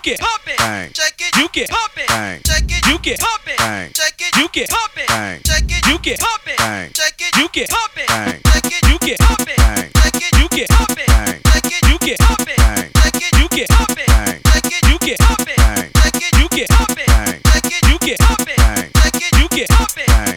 S5: get
S9: pump it,
S13: bang,
S9: check it,
S5: you get
S9: pump it,
S13: bang,
S9: check it,
S5: you get
S9: pump it,
S13: bang,
S9: check it,
S5: you get
S9: pump it,
S13: bang,
S9: check it,
S5: you get
S9: pump it,
S13: bang,
S9: check it,
S5: you get
S9: pump it,
S13: bang,
S9: check it,
S5: you get
S9: pump it,
S13: bang,
S9: check it,
S5: you get
S9: pump it,
S13: bang,
S9: check it,
S5: you get
S9: pump it,
S13: bang,
S9: check it,
S5: you get
S9: pump it,
S13: bang,
S9: check it,
S5: you get
S9: pump it,
S13: bang,
S9: check it,
S5: you get
S9: pump it,
S13: bang,
S9: check it,
S5: you get
S9: pump it,
S13: bang,
S9: check it,
S5: you get
S9: pump it.
S13: bang.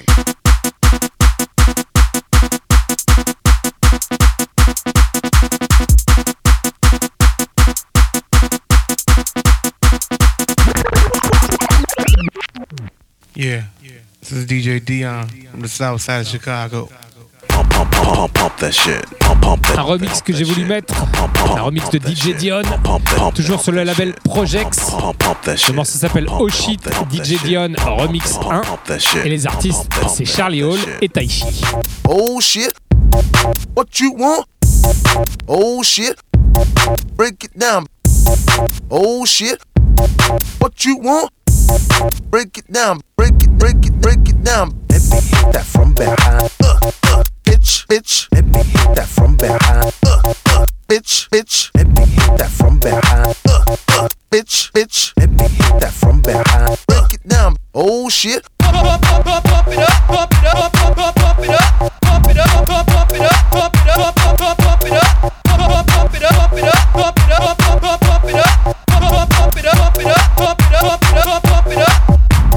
S5: Yeah. This is DJ Dion from the south side of Chicago.
S13: Pump, pump, pump, pump that shit. Pump, pump that.
S6: Un remix que j'ai voulu mettre, un remix de DJ Dion, toujours sur le label Projex. Le morceau s'appelle Oh Shit, DJ Dion Remix 1. Et les artistes, c'est Charlie Hall et Taishi.
S16: Oh shit, what you want? Oh shit, break it down. Oh shit, what you want? Break it down, break it down. Let me hit that from behind. Bitch, bitch, let me hit that from behind. Bitch, bitch, let me hit that from behind. Bitch, bitch, let me hit that from behind. Break it down. Oh shit. Pump it up, pump it up, pump it up, pump it up, pump it up, pump it up, pump it up, pump it up, pump it up, pump it up, pump it up, pump it up, pump it up, pump it up, pump it up, pump it up, pump it up.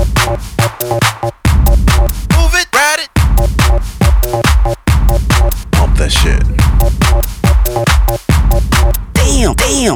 S16: Move it, ride it.
S13: Pump that shit.
S16: Damn, damn.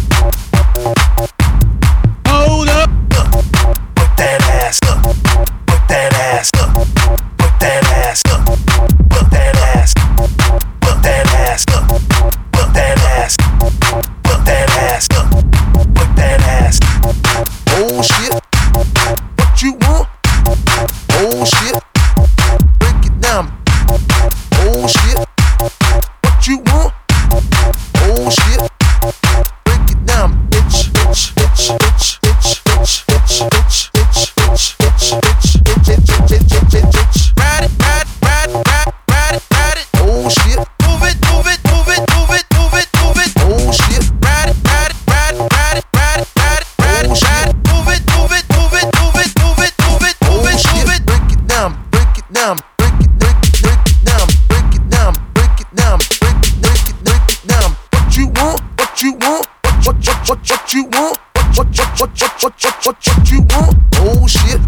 S5: Hold up.
S16: Work that ass. Work that ass. Work that ass. Work that ass. Work that ass. Work that ass. Work that ass. Work that ass. Oh shit. What you want? Oh shit. Break it down. Oh shit. What you want? Oh shit. Break it down. Bitch, bitch, bitch, bitch, bitch, bitch, bitch, bitch, bitch, bitch, bitch, bitch, bitch, bitch, bitch. Ride it, ride, ride, ride, ride it, ride it. Oh shit. Move it, move it, move it, move it, move it, move it. Oh shit. Ride it, ride it, ride it, ride it, ride it, ride it, ride it, ride it. Move it, move it, move it, move it, move it, move it, move it, move it. Break it down, break it down, break it, break it, break it down, break it down, break it down, break it, break it, break it down. What you want? What you want? What you want? What you want? Oh shit.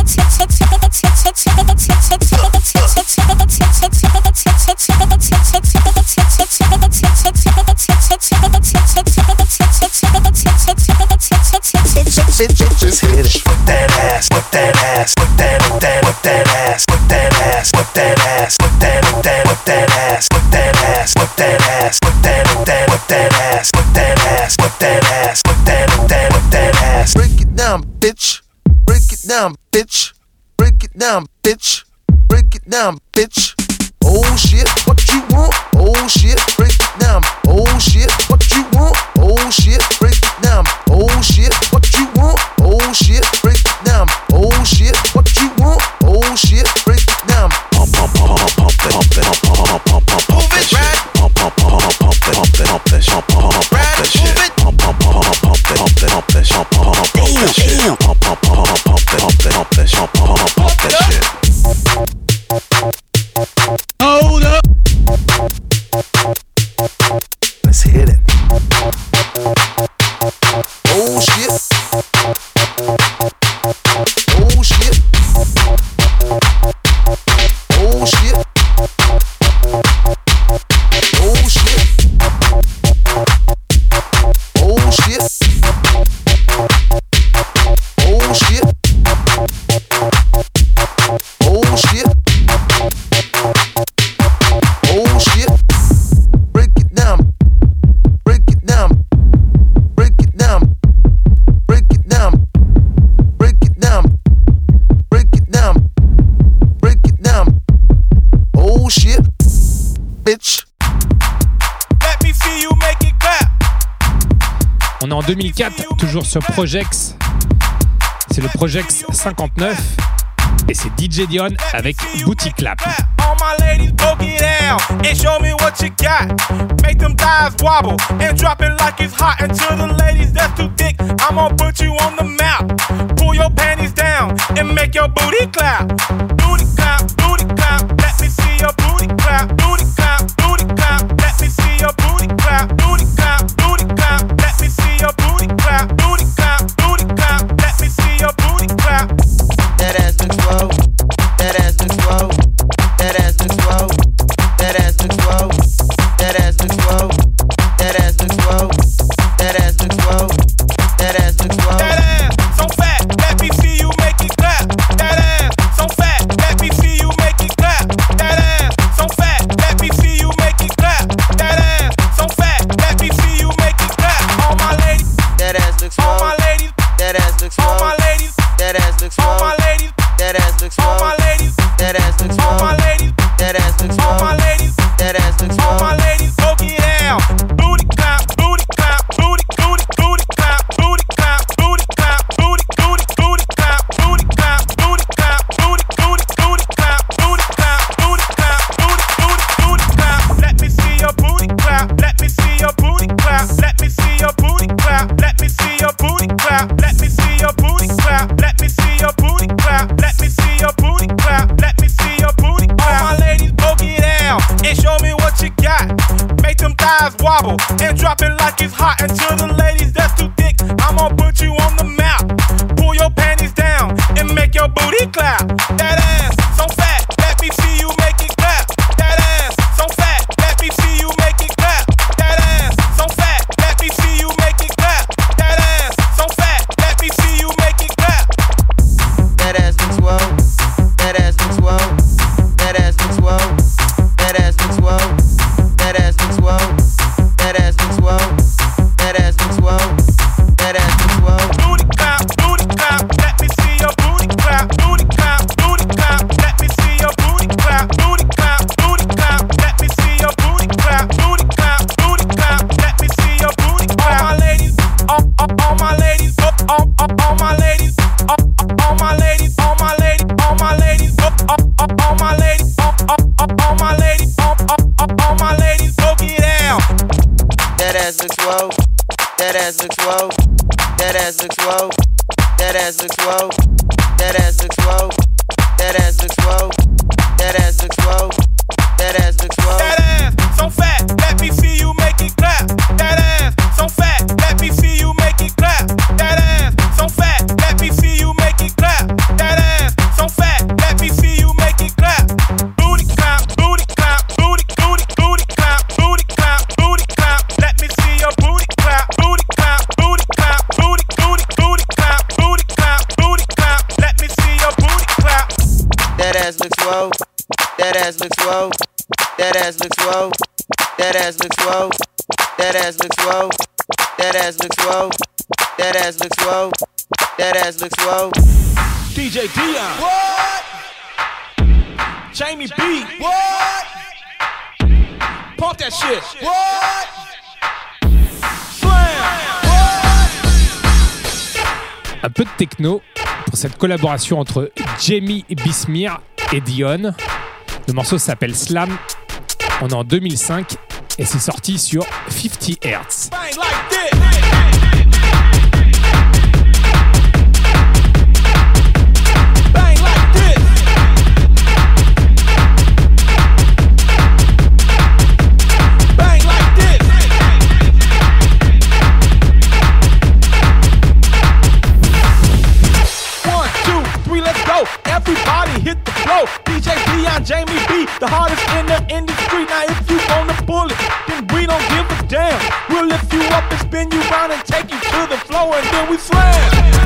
S16: Just hit it. Work that ass, work that ass, work that, work that, work that ass, work that ass, work that ass, work that, work that, work that ass, work that ass, work that ass, work that, work that, work that ass, work that ass, work that ass, work that, work that, work that ass. Break it down, bitch. Break it down, bitch. Break it down, bitch. Break it down, bitch. Oh shit, what you want? Oh shit, break it down. Oh shit, what you want? Oh shit, break it down. Oh shit, what you want? Oh shit, break it down. Oh shit, what you want? Oh shit, break it down.
S13: Pump, pump, pump, pump that, pump that, pump, pump, pump, pump that shit. Pump, pump, pump, pump that, pump that, pump that shit. Pump that shit. Pump, pump, pump, pump that, pump that, pump that shit. Pump that shit. Pump, pump, pump, pump that, pump that, pump that shit. Pump that shit.
S5: Hold up.
S16: Let's hit it. Oh shit. Oh shit. Oh shit. Oh shit. Oh shit. Oh shit. Oh shit. Oh shit. Break it down. Break it down. Break it down. Break it down. Break it down. Break it down. Break it down. Oh shit. Bitch.
S10: Let me see you make it clap.
S6: On est en 2004, toujours sur Projex. C'est le Projex 59 et c'est DJ Dion avec Booty Clap.
S10: On my ladies, boogie down and show me what you got. Make them thighs wobble and drop it like it's hot. And to the ladies that's too thick, I'm gonna put you on the map. Pull your panties down and make your booty clap. Booty clap, booty clap. Let me see your booty clap. Booty clap, booty clap. Let me see your booty clap. Booty clap, booty clap. Let me see your booty clap. Booty clap, booty clap. Let me see your booty clap.
S2: That ass looks swole. That ass looks swole. That ass looks swole. That ass looks swole. That ass looks swole. That ass looks swole. That ass looks swole. That ass looks swole.
S10: That ass so fat. Let me see you make it clap. That ass so fat. Let me see you make it clap. That ass so fat. Let me see you make it clap. That ass so fat. Let me see you make it clap. All my ladies.
S2: That ass looks swole.
S10: All my ladies.
S2: That ass looks swole.
S10: All my ladies.
S2: That ass looks swole.
S10: All my ladies.
S2: That ass looks swole.
S10: All my ladies.
S2: That ass looks
S10: All
S2: swole.
S10: my ladies.
S2: That ass looks
S10: All
S2: swole.
S10: my ladies.
S2: That ass looks
S10: All
S2: swole.
S10: my ladies. Boogie down. Booty clap. Booty clap. Booty booty booty clap. Booty clap. Booty clap. Booty booty booty clap. Booty clap. Booty clap. Booty booty booty clap. Booty clap. Booty clap. Booty booty booty clap. Let me see your booty clap. Let me see your booty clap. Let me see your booty clap. Let me see your booty clap. Let me see your booty clap. Let me see your booty clap. Let me see your booty clap. Let me see your booty clap. All my ladies, boogie down and show me what you got. Make them thighs wobble and drop it like it's hot. And to the ladies that's too thick, I'm gonna put you on the map. Pull your panties down and make your booty clap. That ass so fat, let me see you make it clap. That ass so fat, let me see you make it clap. That ass so fat, let me see you make it clap. That ass so fat, let me see you make it clap.
S2: That ass looks swole. That ass looks swole. That ass looks swole. That ass looks swole. That ass looks swole. That ass looks swole. That ass looks swole. That ass looks swole.
S10: Booty clap, booty clap. Let me see your booty clap. Booty clap, booty clap. Let me see your booty clap. Booty clap, booty clap. Let me see your booty clap. Booty clap, booty clap. Let me see your booty clap. All my ladies, all my ladies, all my ladies, all my ladies, all my ladies, all my ladies, all my ladies, all my ladies, all my ladies, boogie down.
S2: That ass looks swole. That ass looks swole. That ass looks swole. That ass looks swole. That ass looks swole. That ass looks swole. That ass looks swole. That ass looks swole.
S10: That ass so fat, let me see you make it clap. That ass so fat, let me see you make it clap. That ass so fat, let me see you make it clap. That ass so fat, let me see you make it clap. Booty clap, booty clap, booty booty booty clap, booty clap, booty clap. Let me see your booty clap, booty clap, booty clap, booty booty booty clap, booty clap, booty clap. Let me see your booty clap.
S2: That ass looks swole. That ass looks swole. That ass looks swole. That ass looks swole. That ass looks swole. That ass looks swole. That ass looks swole. That ass looks swole.
S10: DJ Dion. What? Jamie B. What? Pump that shit. What? Slam.
S6: Un peu de techno pour cette collaboration entre Jamie Bismuth et Dion. Le morceau s'appelle Slam. On est en 2005 et c'est sorti sur 50 Hz.
S10: Bang like this. Bang like this. Bang like this. 1, 2, 3, let's go. Everybody hit the floor. DJ Dion, Jamie B, the hardest in the industry. Now if you wanna pull it, then we don't give a damn. We'll lift you up and spin you round and take you to the floor and then we slam.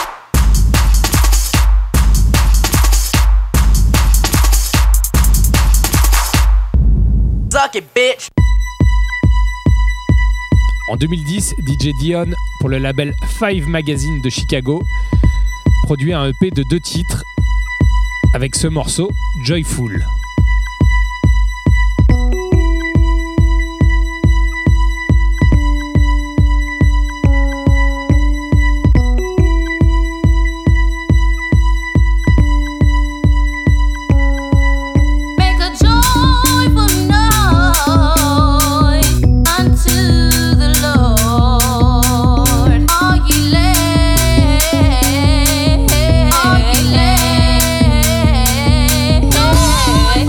S17: suck it, bitch.
S6: En 2010, DJ Dion, pour le label Five Magazine de Chicago, produit un EP de 2 titres avec ce morceau, Joyful.
S18: Yeah.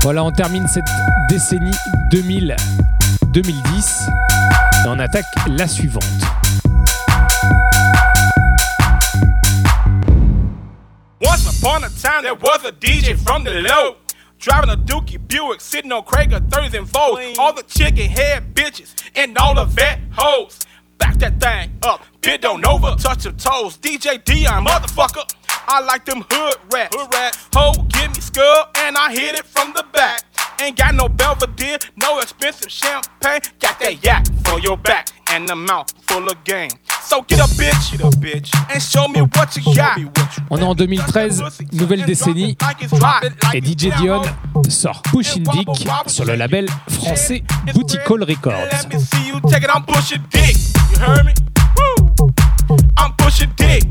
S6: Voilà, on termine cette décennie 2000-2010 et on attaque la suivante.
S10: Once upon a time, there was a DJ from the low, driving a Dookie Buick, sitting on Craig of 30s and Volts. All the chicken head bitches and all the vet hoes. Back that thing up, bend on over, touch your toes. DJ Dion, motherfucker, I like them hood rats. Ho, give me skull, and I hit it from the back. Ain't got no Belvedere, no expensive champagne. Got that yak for your back and the mouth full of game. So get a bitch, and show me what you got.
S6: On est en 2013, nouvelle décennie, et DJ Dion sort Pushin' Dick sur le label français Boutiquol Records.
S10: Let me see you take it, I'm pushing dick. You heard me? Woo. I'm pushing dick.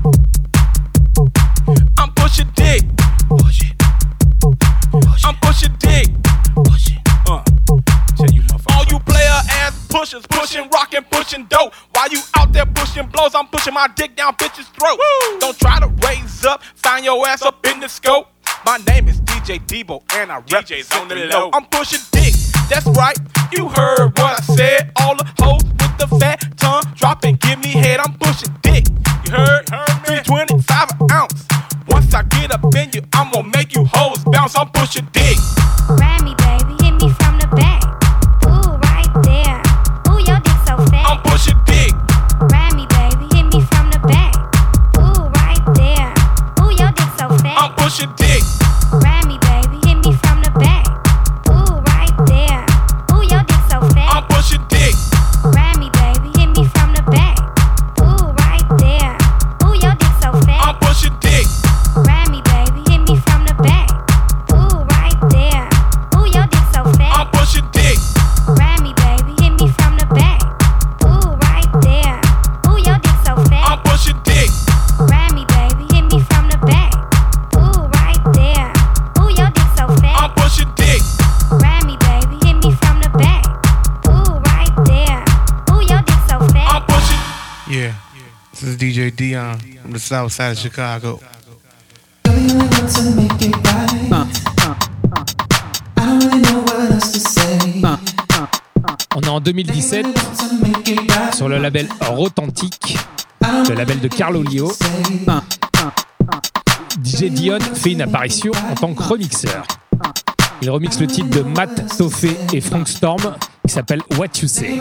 S10: I'm pushing dick. Push it. I'm pushing dick. Push it. All you player ass pushers, pushing rock and pushing dope. While you out there pushing blows, I'm pushing my dick down bitches' throat. Woo. Don't try to raise up, find your ass up in the scope. My name is DJ Debo and I rep on the low. I'm pushing dick, that's right, you heard what I said. All the hoes with the fat tongue, drop and give me head. I'm pushing dick, you heard? 325 an ounce. Once I get up in you, I'm gonna make you hoes bounce. I'm pushing dick.
S18: Grab me, baby, hit me from the back. Ooh, right there. Ooh, your dick so fat.
S10: I'm pushing dick.
S18: Grab me, baby, hit me from the back. Ooh, right there. Ooh, your dick so fat.
S10: I'm pushing dick.
S18: Grab me, baby, hit me from the back. Ooh, right there. Ooh, your dick so fat.
S10: I'm pushing dick.
S18: Grab me, baby, hit me from the back. Ooh, right there. Ooh, your dick so fat.
S10: I'm pushing dick.
S18: Grab me, baby, hit me from the back. Ooh, right there. Ooh, your dick so fat.
S10: I'm pushing dick.
S18: Grab me, baby, hit me from the back. Ooh, right there. Ooh, your dick so fat.
S10: I'm pushing dick.
S18: Grab me, baby, hit me from the back. Ooh, right there. Ooh, your dick so fat.
S10: I'm pushing dick.
S18: Grab me, baby, hit me from the back. Ooh, right there. Ooh, your dick so fat.
S10: I'm pushing.
S5: Yeah, this is DJ Dion from the south side of Chicago.
S6: On est en 2017 sur le label Rotantique, le label de Carlo Lio. DJ Dion fait une apparition en tant que remixeur. Il remixe le titre de Matt Toffé et Frank Storm qui s'appelle What You Say.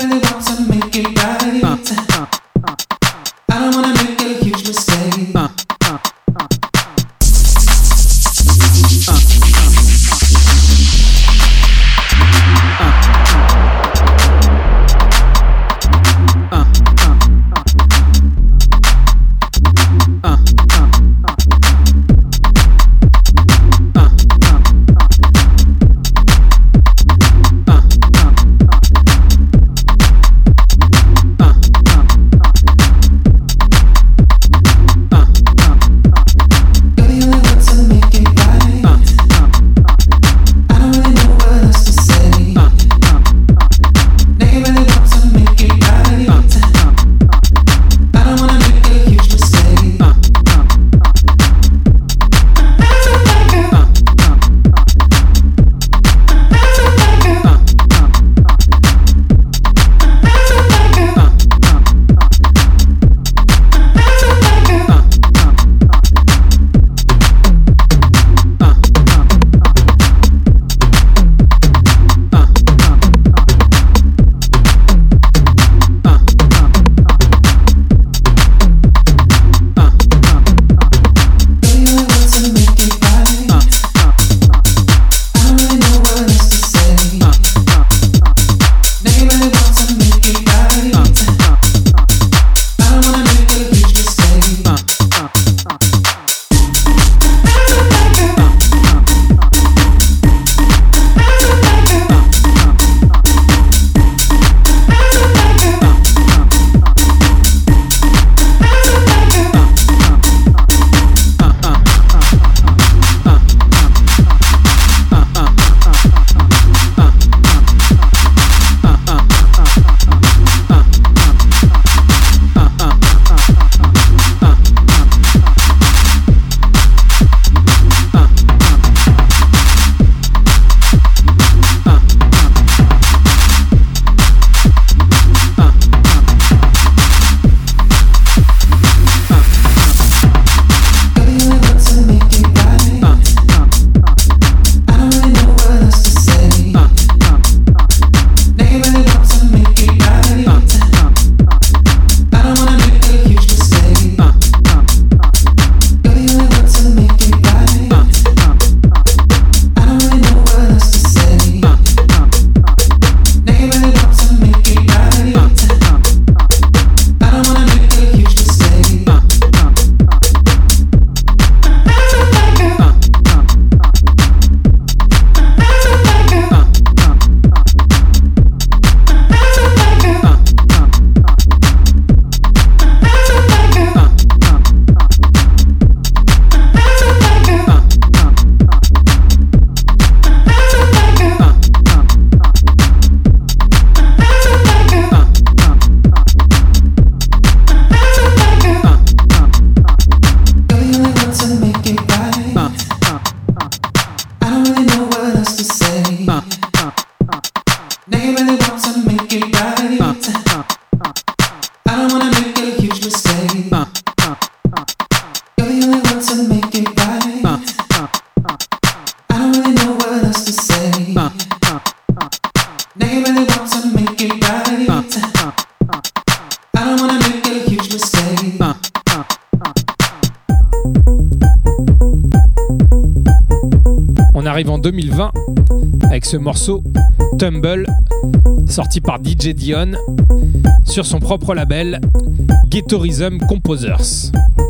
S6: 2020 avec ce morceau Tumble, sorti par DJ Dion sur son propre label Ghetto Rhythm Composers.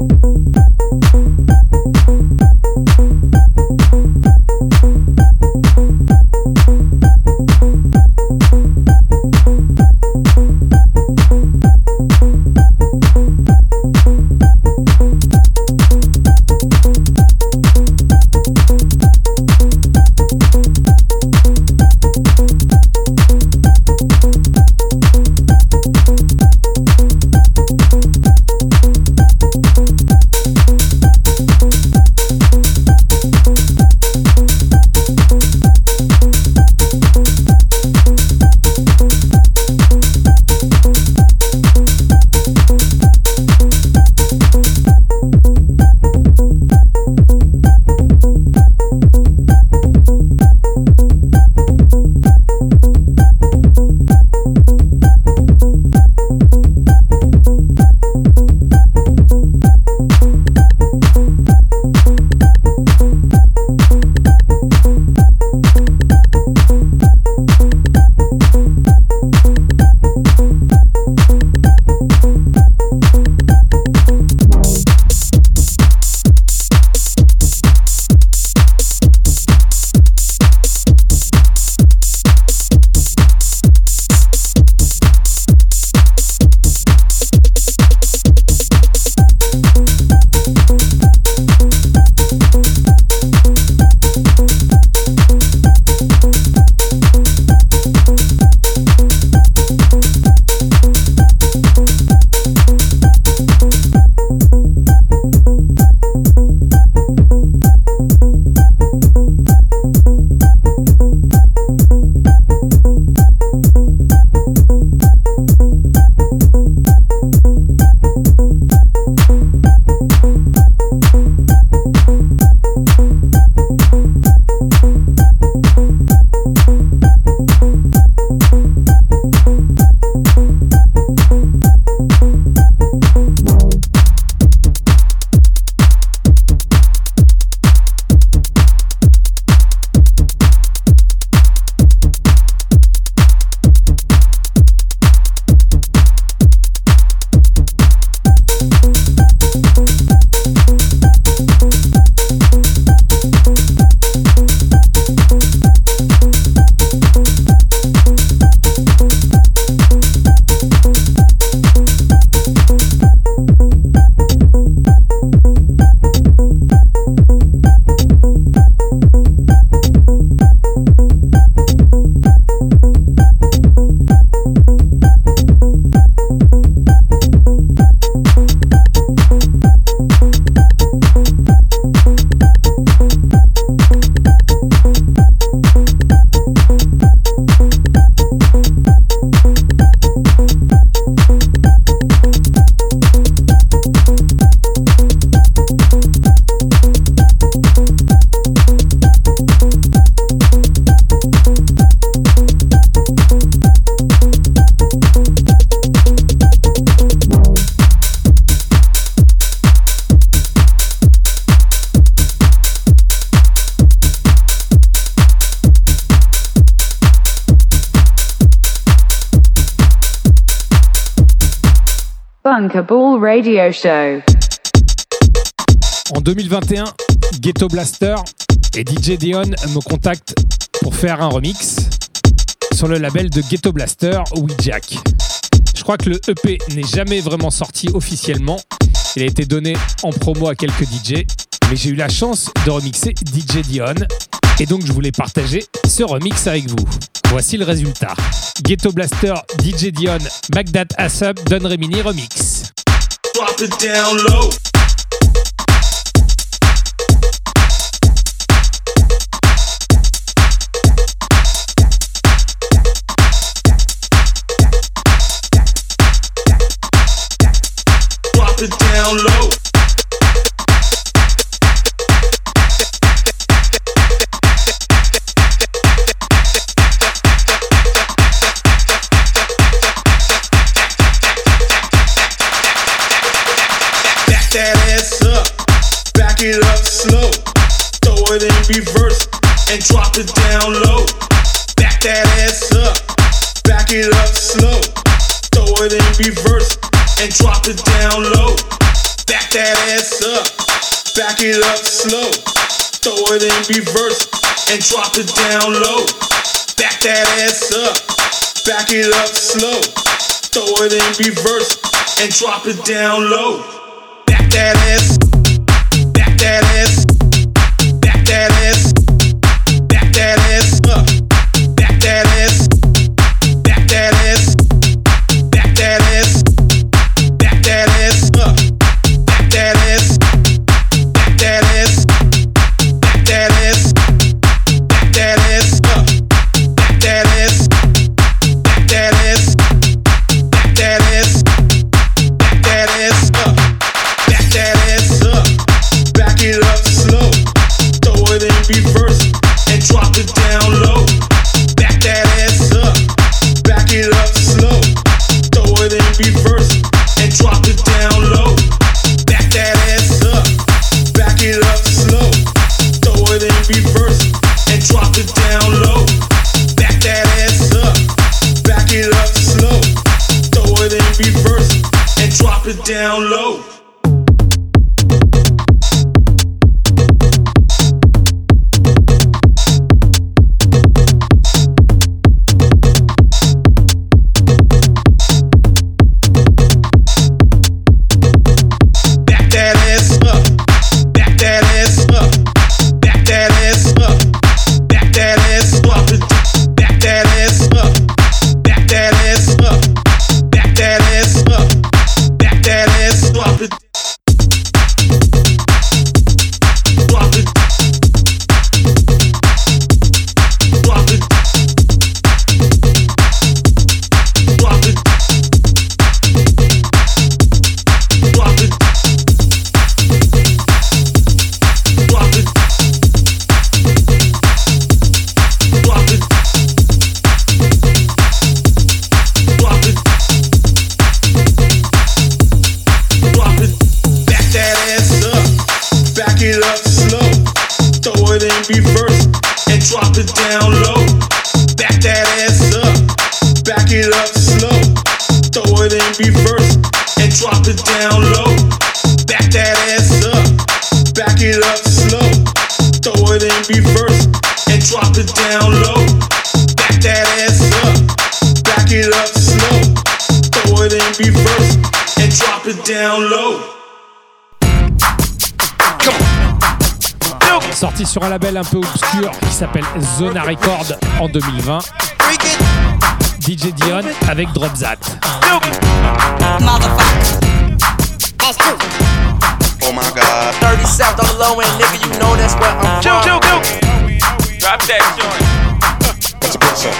S4: Bunkable Radio Show.
S6: En 2021, Ghetto Blaster et DJ Dion me contactent pour faire un remix sur le label de Ghetto Blaster, Jack. Je crois que le EP n'est jamais vraiment sorti officiellement. Il a été donné en promo à quelques DJ, mais j'ai eu la chance de remixer DJ Dion et donc je voulais partager ce remix avec vous. Voici le résultat. Ghetto Blaster, DJ Dion, Bagdad Asub, Don Remini remix.
S19: Drop it down low. Drop it down low. That ass up, back it up slow, throw it in reverse and drop it down low. Back that ass up, back it up slow. Throw it in reverse and drop it down low. Back that ass up, back it up slow. Throw it in reverse and drop it down low. Back that ass up, back it up slow. Throw it in reverse and drop it down low. Back that ass, back that ass, back that ass, back that ass up, back that ass, back that ass, back that ass, back that ass up, back that ass, back that ass, back that ass, back that ass up, back that ass, back that ass, back that ass, back that ass up, back that ass up, back it up slow, throw it in reverse and drop it down low. Back that ass up, back it up slow, throw it in reverse and drop it down low. Back that ass up, back it up slow, throw it in reverse and drop it down low. Back that ass up, back it up slow, throw it in reverse and drop it down low. Back that ass up, back that ass up, back that ass up, back that ass up, back that ass up, back that ass up, back that ass up, back that ass up, drop it, drop it, drop it, drop it, drop it. Drop it. Drop it. Drop it. Drop it. Back that ass up. Back it up slow. Throw it in reverse and drop it down low. Back that ass up. Back it up slow. Throw it in reverse and drop it down low. Back that ass up. Back it up slow, throw it in reverse and drop it down low. Back that ass up, back it up slow, throw it in reverse and drop it down low.
S6: Sorti sur un label un peu obscur qui s'appelle Zona Record en 2020. DJ Dion avec Drop That.
S20: Oh my God. 30 South on the low end, nigga, you know that's where I'm from. Drop that joint.
S19: What's a good song?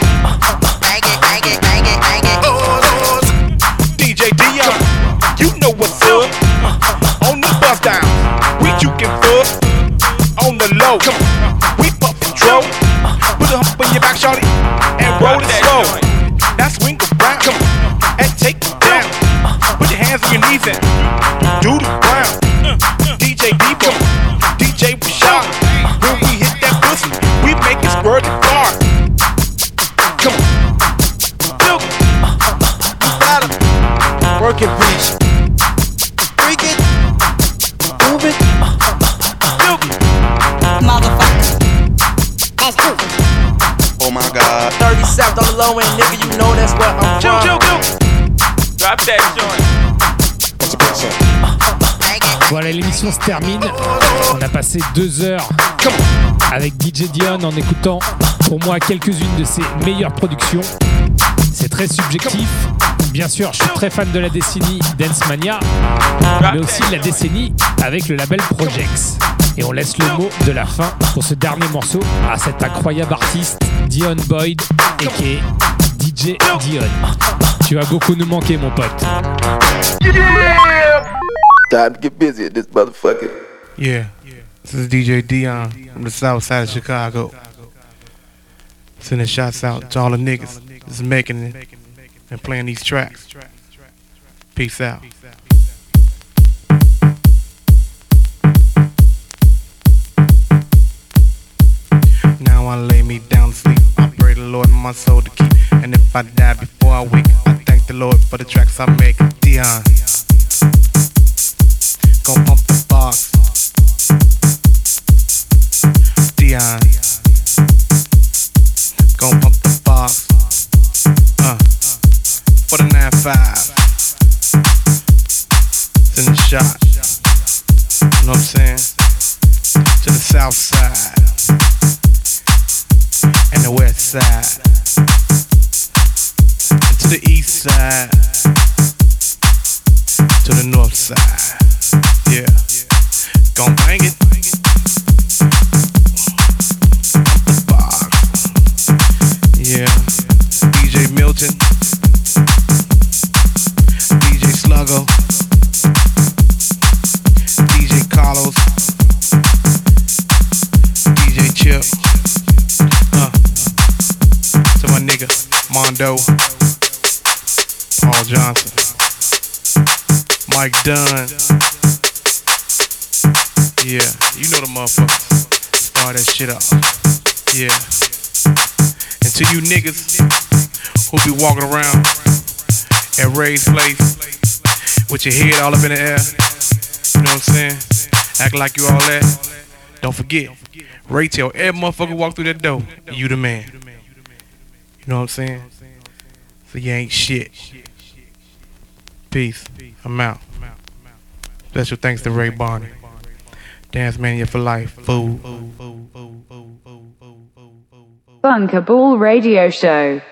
S19: DJ Dion, you know what's up. On the bus down, we jukin' fuck. On the low, we puffin' dro. Put a hump in your back, shorty, and roll it slow. Now swing around, and take it down. Put your hands on your knees and do the ground. DJ Debo, DJ Rashad. When we hit that pussy, we make it squirt the car. Come on, Duke, you gotta work it, bitch. Freak it, move it, Duke, motherfucker. That's Duke.
S20: Oh my God. 30 South on the low end, nigga, you know that's where I'm from. Drop that joint.
S19: What's a good song?
S6: Voilà, l'émission se termine. On a passé 2 heures avec DJ Dion en écoutant pour moi quelques-unes de ses meilleures productions. C'est très subjectif. Bien sûr, je suis très fan de la décennie Dance Mania, mais aussi de la décennie avec le label Projects. Et on laisse le mot de la fin pour ce dernier morceau à cet incroyable artiste Dion Boyd, a.k.a. DJ Dion. Tu vas beaucoup nous manquer, mon pote.
S20: Time to get busy at this motherfucker.
S5: Yeah, this is DJ Dion from the south side of Chicago. Sending shots out to all the niggas that's making it and playing these tracks. Peace out. Now Now I lay me down to sleep. I pray the Lord my soul to keep. And if I die before I wake, I thank the Lord for the tracks I make. Dion, gon' pump the box. Dion, gon' pump the box. For the 9-5. It's in the shot. You know what I'm saying? To the south side and the west side, and to the east side, to the north side. Yeah, gon' bang it. The box. Yeah, DJ Milton, DJ Sluggo, DJ Carlos, DJ Chip, to my nigga Mondo, Paul Johnson, Mike Dunn. Yeah, you know the motherfuckers. Start that shit up. Yeah. And to you niggas who be walking around at Ray's place with your head all up in the air, you know what I'm saying? Act like you all that. Don't forget, Ray tell every motherfucker walk through that door, you the man. You know what I'm saying? So you ain't shit. Peace. I'm out. Special thanks to Ray Barney. Dance Mania for life. Fool.
S4: Bunker Ball Radio Show.